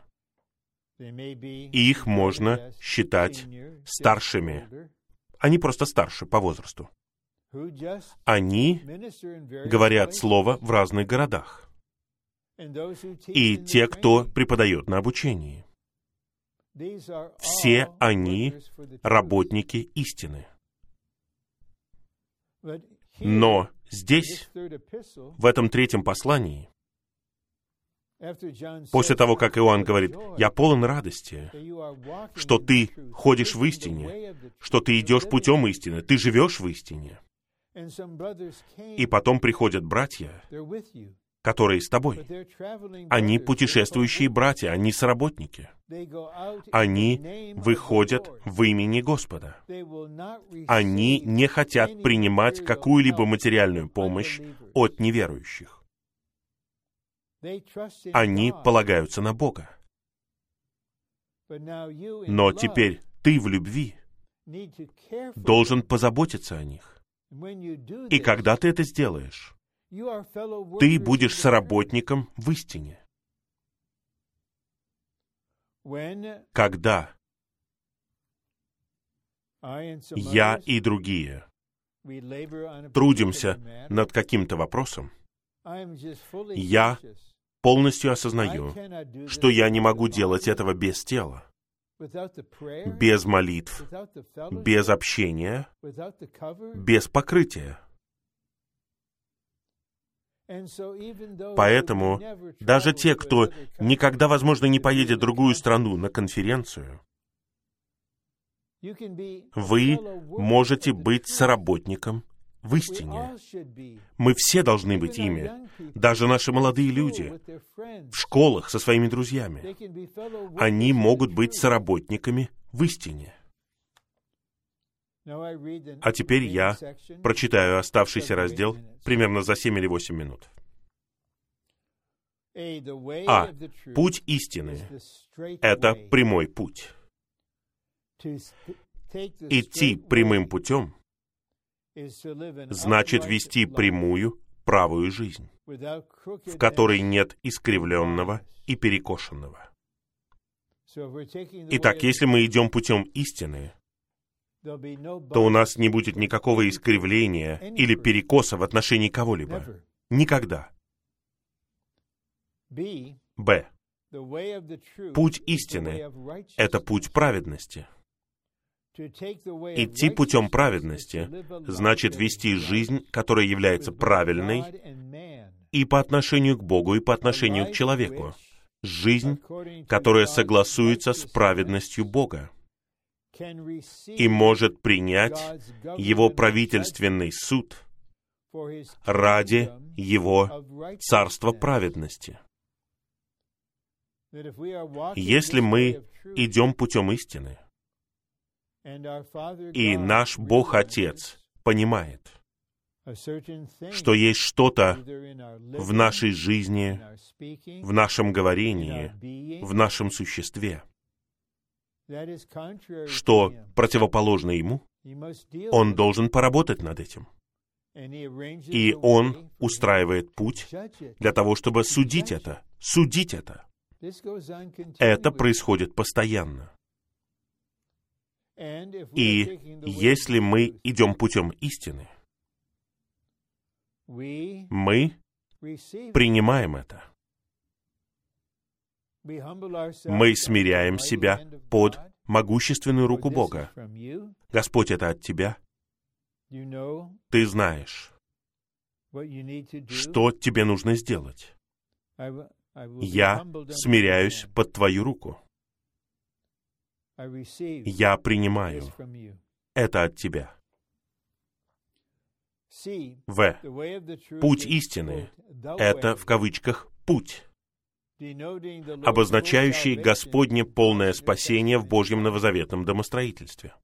И их можно считать старшими. Они просто старше по возрасту. Они говорят слово в разных городах. И те, кто преподает на обучении. Все они работники истины. Но здесь, в этом третьем послании, после того, как Иоанн говорит: «Я полон радости, что ты ходишь в истине, что ты идешь путем истины, ты живешь в истине». И потом приходят братья, которые с тобой. Они путешествующие братья, они соработники. Они выходят в имени Господа. Они не хотят принимать какую-либо материальную помощь от неверующих. Они полагаются на Бога. Но теперь ты в любви должен позаботиться о них. И когда ты это сделаешь, ты будешь соработником в истине. Когда я и другие трудимся над каким-то вопросом, я полностью осознаю, что я не могу делать этого без тела, без молитв, без общения, без покрытия. Поэтому даже те, кто никогда, возможно, не поедет в другую страну на конференцию, вы можете быть соработником в истине. Мы все должны быть ими. Даже наши молодые люди в школах со своими друзьями. Они могут быть соработниками в истине. А теперь я прочитаю оставшийся раздел примерно за семь или восемь минут. А. Путь истины — это прямой путь. Идти прямым путем значит вести прямую, правую жизнь, в которой нет искривленного и перекошенного. Итак, если мы идем путем истины, то у нас не будет никакого искривления или перекоса в отношении кого-либо. Никогда. Б. Путь истины — это путь праведности. Идти путем праведности значит вести жизнь, которая является правильной и по отношению к Богу, и по отношению к человеку. Жизнь, которая согласуется с праведностью Бога и может принять Его правительственный суд ради Его царства праведности. Если мы идем путем истины, и наш Бог-Отец понимает, что есть что-то в нашей жизни, в нашем говорении, в нашем существе, что противоположно Ему, Он должен поработать над этим. И Он устраивает путь для того, чтобы судить это, судить это. Это происходит постоянно. И если мы идем путем истины, мы принимаем это. Мы смиряем себя под могущественную руку Бога. Господь, это от Тебя. Ты знаешь, что тебе нужно сделать. Я смиряюсь под Твою руку. Я принимаю. Это от Тебя. В. Путь истины — это, в кавычках, путь, обозначающий Господне полное спасение в Божьем новозаветном домостроительстве.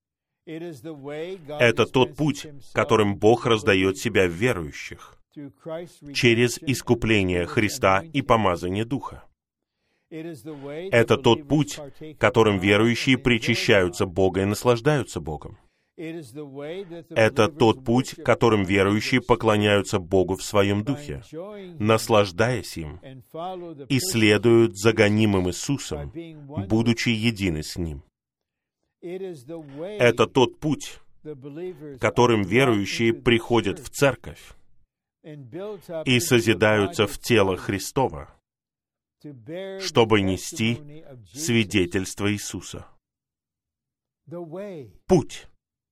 Это тот путь, которым Бог раздает себя в верующих, через искупление Христа и помазание Духа. Это тот путь, которым верующие причащаются Бога и наслаждаются Богом. Это тот путь, которым верующие поклоняются Богу в своем духе, наслаждаясь им, и следуют за гонимым Иисусом, будучи едины с Ним. Это тот путь, которым верующие приходят в церковь и созидаются в тело Христово, чтобы нести свидетельство Иисуса. Путь.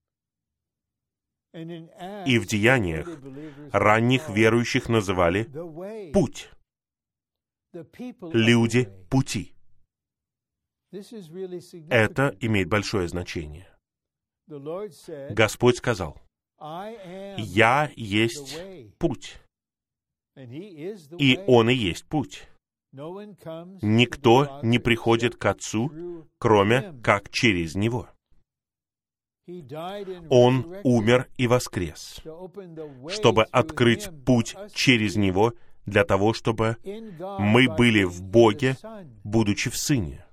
И в деяниях ранних верующих называли «путь». Люди пути. Это имеет большое значение. Господь сказал: «Я есть путь». И Он и есть путь. Никто не приходит к Отцу, кроме как через Него. Он умер и воскрес, чтобы открыть путь через Него для того, чтобы мы были в Боге, будучи в Сыне.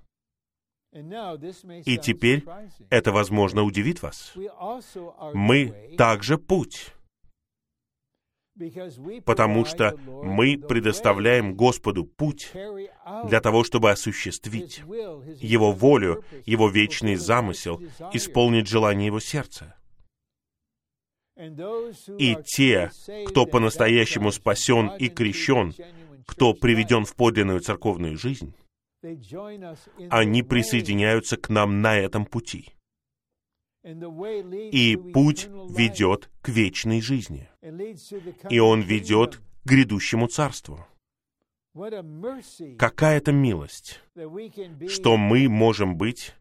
И теперь это, возможно, удивит вас. Мы также путь, потому что мы предоставляем Господу путь для того, чтобы осуществить Его волю, Его вечный замысел, исполнить желание Его сердца. И те, кто по-настоящему спасен и крещен, кто приведен в подлинную церковную жизнь, они присоединяются к нам на этом пути. И путь ведет к вечной жизни. И он ведет к грядущему царству. Какая это милость, что мы можем быть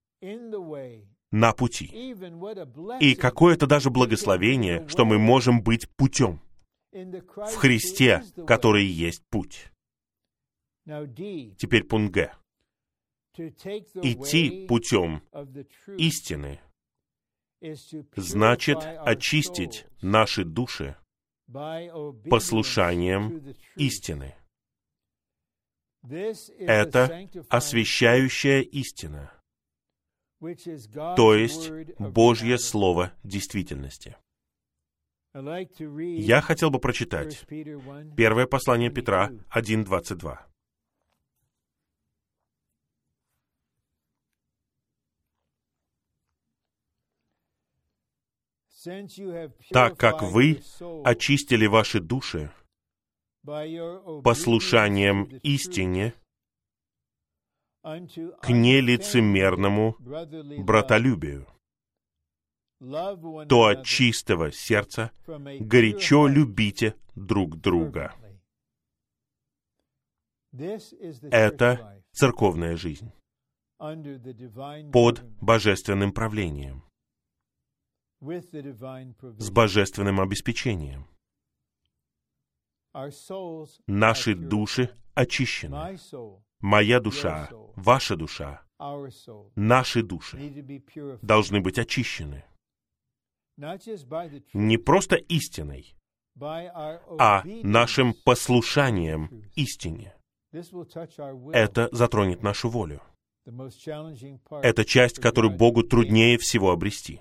на пути. И какое это даже благословение, что мы можем быть путем в Христе, который есть путь. Теперь пункт Г. Идти путем истины значит очистить наши души послушанием истины. Это освящающая истина, то есть Божье Слово действительности. Я хотел бы прочитать первое послание Петра один двадцать два. Так как вы очистили ваши души послушанием истине к нелицемерному братолюбию. то от чистого сердца горячо любите друг друга. Это церковная жизнь под божественным правлением, с божественным обеспечением. Наши души очищены. Моя душа, ваша душа, наши души должны быть очищены. Не просто истиной, а нашим послушанием истине. Это затронет нашу волю. Это часть, которую Богу труднее всего обрести.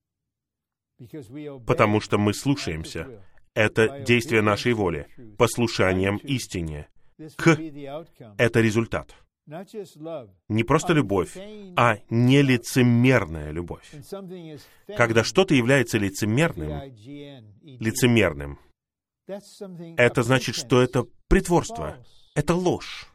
Потому что мы слушаемся. Это действие нашей воли, послушанием истине. К — это результат. Не просто любовь, а нелицемерная любовь. Когда что-то является лицемерным, лицемерным, это значит, что это притворство, это ложь,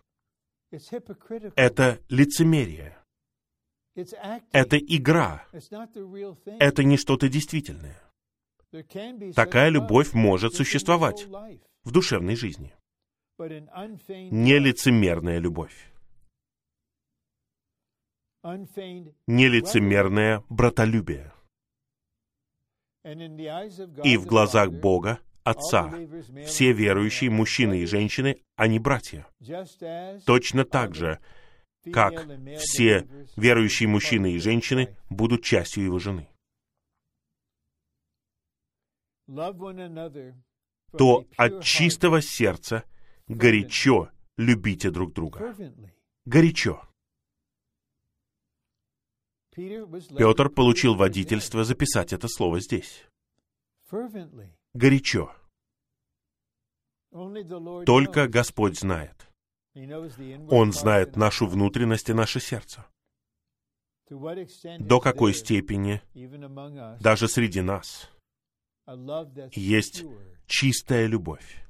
это лицемерие, это игра, это не что-то действительное. Такая любовь может существовать в душевной жизни. Нелицемерная любовь. Нелицемерное братолюбие. И в глазах Бога, Отца, все верующие мужчины и женщины, они братья. Точно так же, как все верующие мужчины и женщины будут частью его жены. То от чистого сердца горячо любите друг друга. Горячо. Петр получил водительство записать это слово здесь. Горячо. Только Господь знает. Он знает нашу внутренность и наше сердце. До какой степени даже среди нас есть чистая любовь,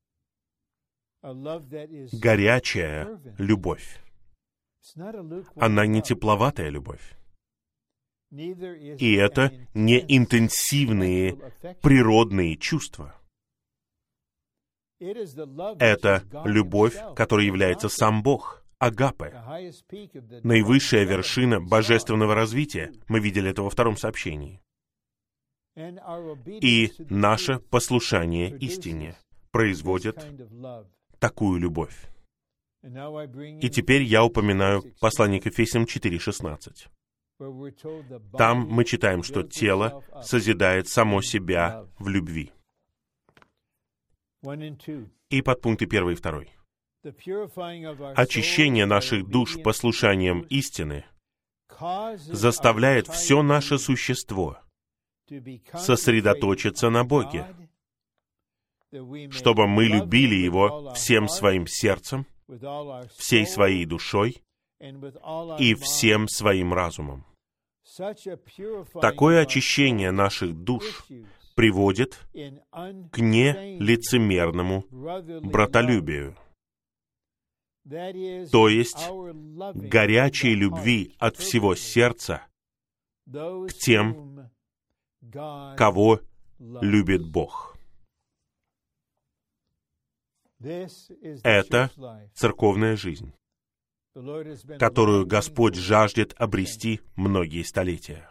горячая любовь. Она не тепловатая любовь. И это не интенсивные природные чувства. Это любовь, которая является сам Бог, агапе, наивысшая вершина божественного развития. Мы видели это во втором сообщении. И наше послушание истине производит такую любовь. И теперь я упоминаю послание к Ефесянам четыре шестнадцать. Там мы читаем, что тело созидает само себя в любви. И подпункты первый и второй. Очищение наших душ послушанием истины заставляет все наше существо сосредоточиться на Боге, чтобы мы любили Его всем своим сердцем, всей своей душой и всем своим разумом. Такое очищение наших душ приводит к нелицемерному братолюбию, то есть горячей любви от всего сердца к тем, кого любит Бог. Это церковная жизнь, которую Господь жаждет обрести многие столетия.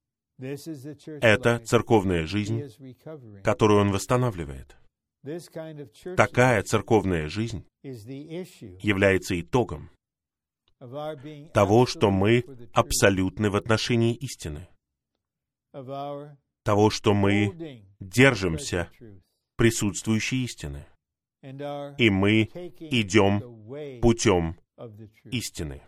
Это церковная жизнь, которую Он восстанавливает. Такая церковная жизнь является итогом того, что мы абсолютны в отношении истины, того, что мы держимся присутствующей истины, и мы идем путем истины.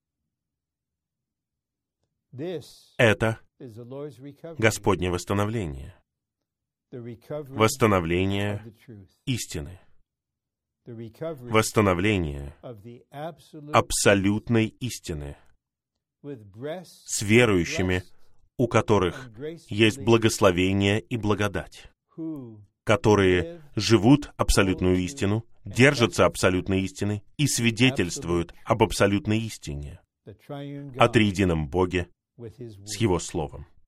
Это Господне восстановление, восстановление истины, восстановление абсолютной истины с верующими, у которых есть благословение и благодать, которые живут абсолютную истину, держатся абсолютной истины и свидетельствуют об абсолютной истине, о триедином Боге с Его Словом.